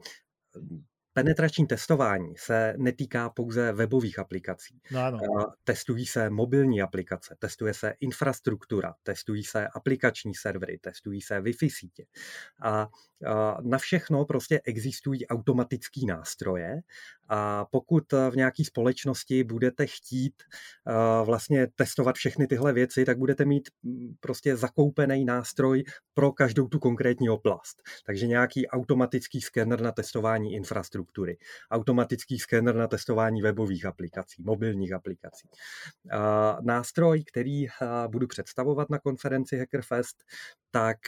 penetrační testování se netýká pouze webových aplikací. No áno. Testují se mobilní aplikace, testuje se infrastruktura, testují se aplikační servery, testují se Wi-Fi sítě. A na všechno prostě existují automatické nástroje a pokud v nějaké společnosti budete chtít vlastně testovat všechny tyhle věci, tak budete mít prostě zakoupený nástroj pro každou tu konkrétní oblast. Takže nějaký automatický skener na testování infrastruktury, automatický skener na testování webových aplikací, mobilních aplikací. Nástroj, který budu představovat na konferenci Hackerfest, tak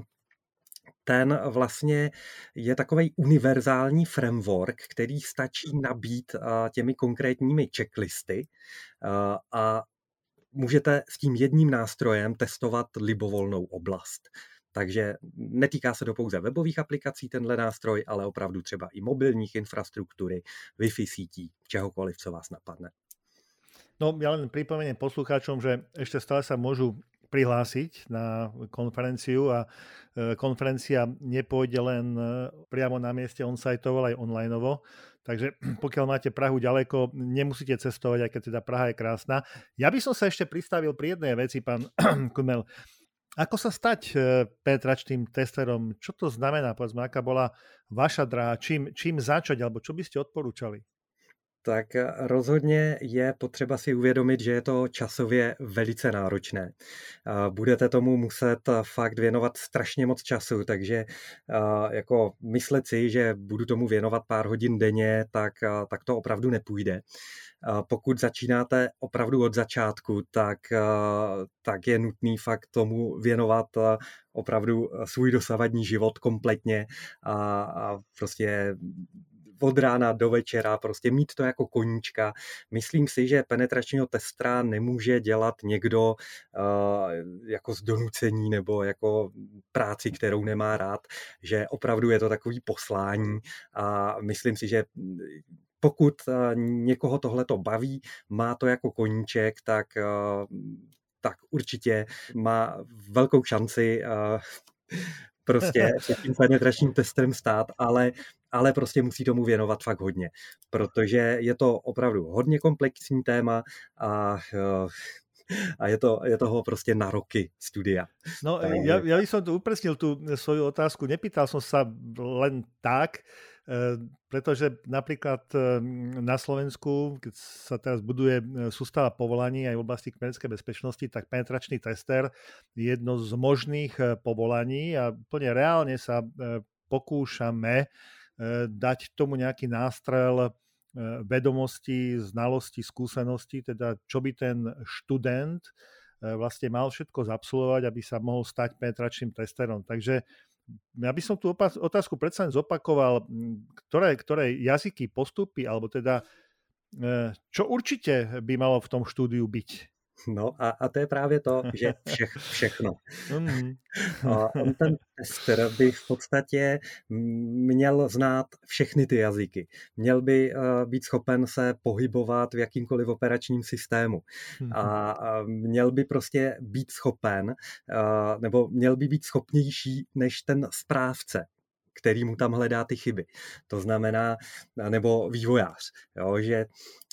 ten vlastně je takovej univerzální framework, který stačí nabít těmi konkrétními checklisty a můžete s tím jedním nástrojem testovat libovolnou oblast. Takže netýká se to pouze webových aplikací tenhle nástroj, ale opravdu třeba i mobilních infrastruktury, Wi-Fi sítí, čehokoliv, co vás napadne. No ja len pripomeniem poslucháčom, že ešte stále sa môžu prihlásiť na konferenciu a konferencia nepôjde len priamo na mieste on-siteovo, ale aj onlineovo. Takže pokiaľ máte Prahu ďaleko, nemusíte cestovať, aj keď teda Praha je krásna. Ja by som sa ešte pristavil pri jednej veci, pán Kudmel. Ako sa stať penetračným testerom? Čo to znamená? Povedzme, aká bola vaša dráha? Čím začať? Alebo čo by ste odporúčali? Tak rozhodně je potřeba si uvědomit, že je to časově velice náročné. Budete tomu muset fakt věnovat strašně moc času, takže jako myslet si, že budu tomu věnovat pár hodin denně, tak to opravdu nepůjde. Pokud začínáte opravdu od začátku, tak je nutný fakt tomu věnovat opravdu svůj dosavadní život kompletně a prostě od rána do večera, prostě mít to jako koníčka. Myslím si, že penetračního testera nemůže dělat někdo jako z donucení nebo jako práci, kterou nemá rád, že opravdu je to takový poslání a myslím si, že pokud někoho tohleto baví, má to jako koníček, tak určitě má velkou šanci prostě se tím penetračním testem stát, ale prostě musí tomu věnovat fakt hodně, protože je to opravdu hodně komplexní téma a A je toho prostě na roky studia. No, ja by som tu upresnil tú svoju otázku. Nepýtal som sa len tak, pretože napríklad na Slovensku, keď sa teraz buduje sústava povolaní aj v oblasti kybernetickej bezpečnosti, tak penetračný tester je jedno z možných povolaní a plne reálne sa pokúšame dať tomu nejaký nástrel vedomostí, znalostí, skúseností, teda čo by ten študent vlastne mal všetko zabsolvovať, aby sa mohol stať penetračným testerom. Takže ja by som tú otázku predsa len zopakoval, ktoré jazyky, postupy, alebo teda čo určite by malo v tom štúdiu byť? No a to je právě to, že všechno. On ten tester by v podstatě měl znát všechny ty jazyky. Měl by být schopen se pohybovat v jakýmkoliv operačním systému. A měl by prostě být schopen, nebo měl by být schopnější než ten správce, který mu tam hledá ty chyby. To znamená, nebo vývojář, jo, že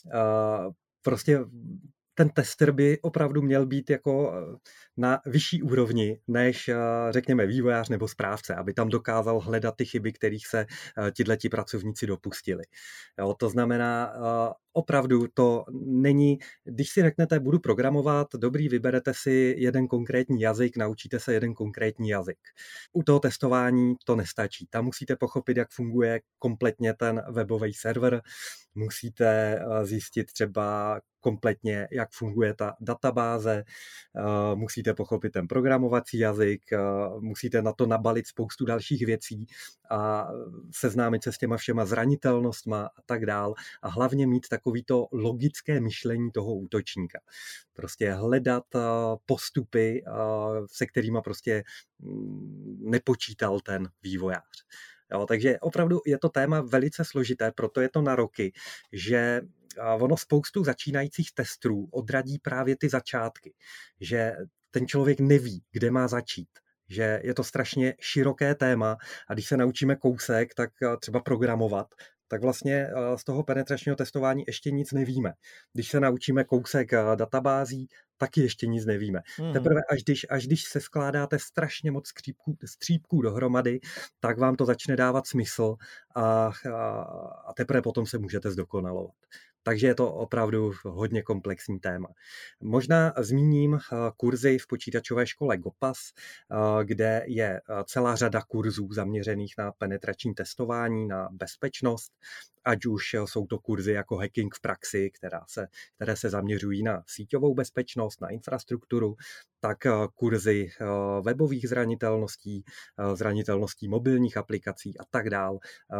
prostě ten tester by opravdu měl být jako na vyšší úrovni než, řekněme, vývojář nebo správce, aby tam dokázal hledat ty chyby, kterých se tihleti pracovníci dopustili. Jo, to znamená, opravdu to není, když si řeknete, budu programovat, dobrý, vyberete si jeden konkrétní jazyk, naučíte se jeden konkrétní jazyk. U toho testování to nestačí. Tam musíte pochopit, jak funguje kompletně ten webový server, musíte zjistit třeba kompletně, jak funguje ta databáze, musíte pochopit ten programovací jazyk, musíte na to nabalit spoustu dalších věcí a seznámit se s těma všema zranitelnostma a tak dál a hlavně mít takovýto logické myšlení toho útočníka. Prostě hledat postupy, se kterými prostě nepočítal ten vývojář. Jo, takže opravdu je to téma velice složité, proto je to na roky, že ono spoustu začínajících testrů odradí právě ty začátky, že ten člověk neví, kde má začít, že je to strašně široké téma a když se naučíme kousek, tak třeba programovat, tak vlastně z toho penetračního testování ještě nic nevíme. Když se naučíme kousek databází, taky ještě nic nevíme. Teprve až když se skládáte strašně moc střípků dohromady, tak vám to začne dávat smysl a teprve potom se můžete zdokonalovat. Takže je to opravdu hodně komplexní téma. Možná zmíním kurzy v počítačové škole GOPAS, kde je celá řada kurzů zaměřených na penetrační testování, na bezpečnost, ať už jsou to kurzy jako hacking v praxi, které se zaměřují na síťovou bezpečnost, na infrastrukturu, tak kurzy webových zranitelností mobilních aplikací a tak dál.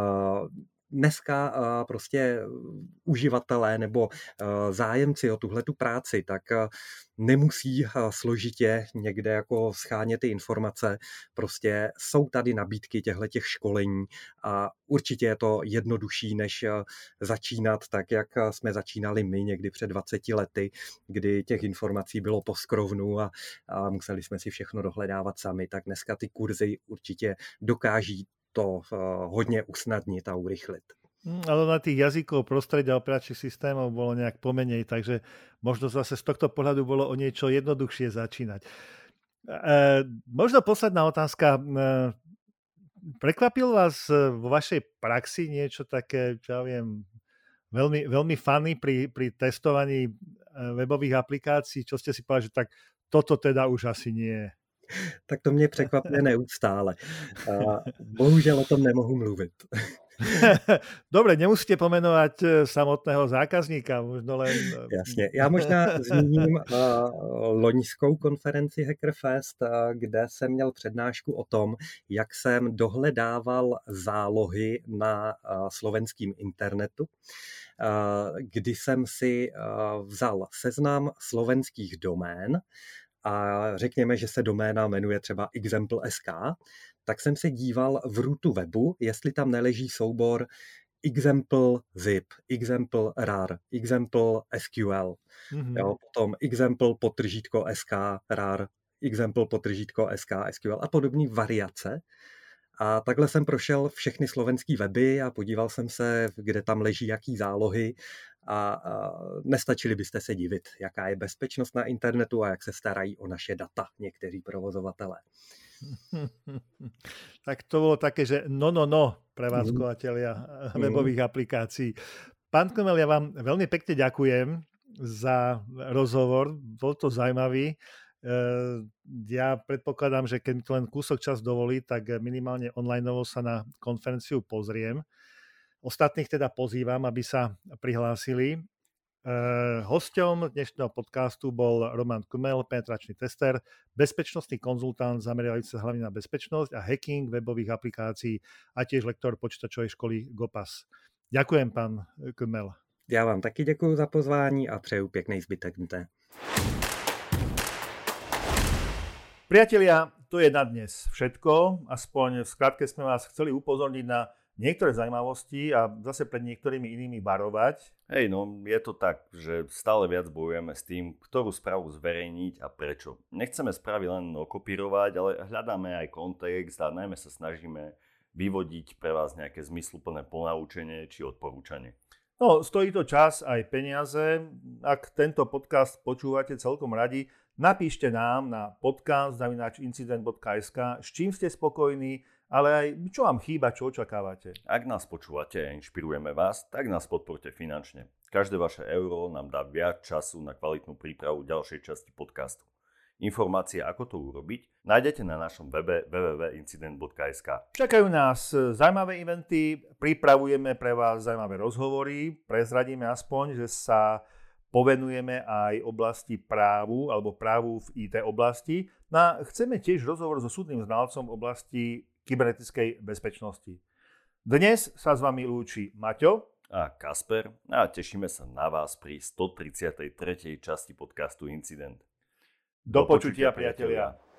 Dneska prostě uživatelé nebo zájemci o tuhletu práci, tak nemusí složitě někde jako schánět ty informace. Prostě jsou tady nabídky těchto školení a určitě je to jednodušší, než začínat tak, jak jsme začínali my někdy před 20 lety, kdy těch informací bylo po skrovnu a museli jsme si všechno dohledávat sami. Tak dneska ty kurzy určitě dokáží to hodně usnadnit a urychlit. Ale na tých jazykov, prostredia operačných systémov bolo nejak pomenej, takže možno zase z tohto pohľadu bolo o niečo jednoduchšie začínať. Možno posledná otázka. Prekvapil vás vo vašej praxi niečo také, čo ja viem, veľmi, veľmi funny pri testovaní webových aplikácií? Čo ste si povedali, že tak toto teda už asi nie je? Tak to mě překvapuje neustále. Bohužel o tom nemohu mluvit. Dobre, nemusíte pomenovať samotného zákazníka, možno len... Jasně, já možná zmíním loňskou konferenci Hackerfest, kde jsem měl přednášku o tom, jak jsem dohledával zálohy na slovenském internetu, kdy jsem si vzal seznam slovenských domén a řekněme, že se doména jmenuje třeba example.sk, tak jsem se díval v rootu webu, jestli tam neleží soubor example zip, example rar, example SQL, jo, potom example _sk rar, example _sk SQL a podobné variace. A takhle jsem prošel všechny slovenský weby a podíval jsem se, kde tam leží jaký zálohy a nestačili byste se divit, jaká je bezpečnost na internetu a jak se starají o naše data někteří provozovatelé. Tak to bolo také, že prevádzkovateľia webových aplikácií. Pán Kmel, ja vám veľmi pekne ďakujem za rozhovor, bol to zaujímavý. Ja predpokladám, že keď mi to len kúsok čas dovolí, tak minimálne onlineovo sa na konferenciu pozriem. Ostatných teda pozývam, aby sa prihlásili. Hosťom dnešného podcastu bol Roman Kmel, penetračný tester, bezpečnostný konzultant zameriavajúci sa hlavne na bezpečnosť a hacking webových aplikácií a tiež lektor počítačovej školy GOPAS. Ďakujem, pán Kmel. Já vám taky děkuji za pozvání a přeju pěkný zbytek dne. Priatelia, to je na dnes všetko. Aspoň v skratke sme vás chceli upozorniť na niektoré zaujímavosti a zase pred niektorými inými varovať. Hej, no je to tak, že stále viac bojujeme s tým, ktorú správu zverejniť a prečo. Nechceme správy len okopírovať, ale hľadáme aj kontext a najmä sa snažíme vyvodiť pre vás nejaké zmysluplné ponaučenie či odporúčanie. No, stojí to čas aj peniaze. Ak tento podcast počúvate celkom radi, napíšte nám na podcast@incident.sk, s čím ste spokojní, ale aj čo vám chýba, čo očakávate. Ak nás počúvate a inšpirujeme vás, tak nás podporte finančne. Každé vaše euro nám dá viac času na kvalitnú prípravu ďalšej časti podcastu. Informácie, ako to urobiť, nájdete na našom webe www.incident.sk. Čakajú nás zaujímavé eventy, pripravujeme pre vás zaujímavé rozhovory, prezradíme aspoň, že sa povenujeme aj oblasti právu alebo právu v IT oblasti. No, chceme tiež rozhovor so súdnym znalcom v oblasti kybernetickej bezpečnosti. Dnes sa s vami lúči Maťo a Kasper a tešíme sa na vás pri 133. časti podcastu Incident. Do počutia, priatelia.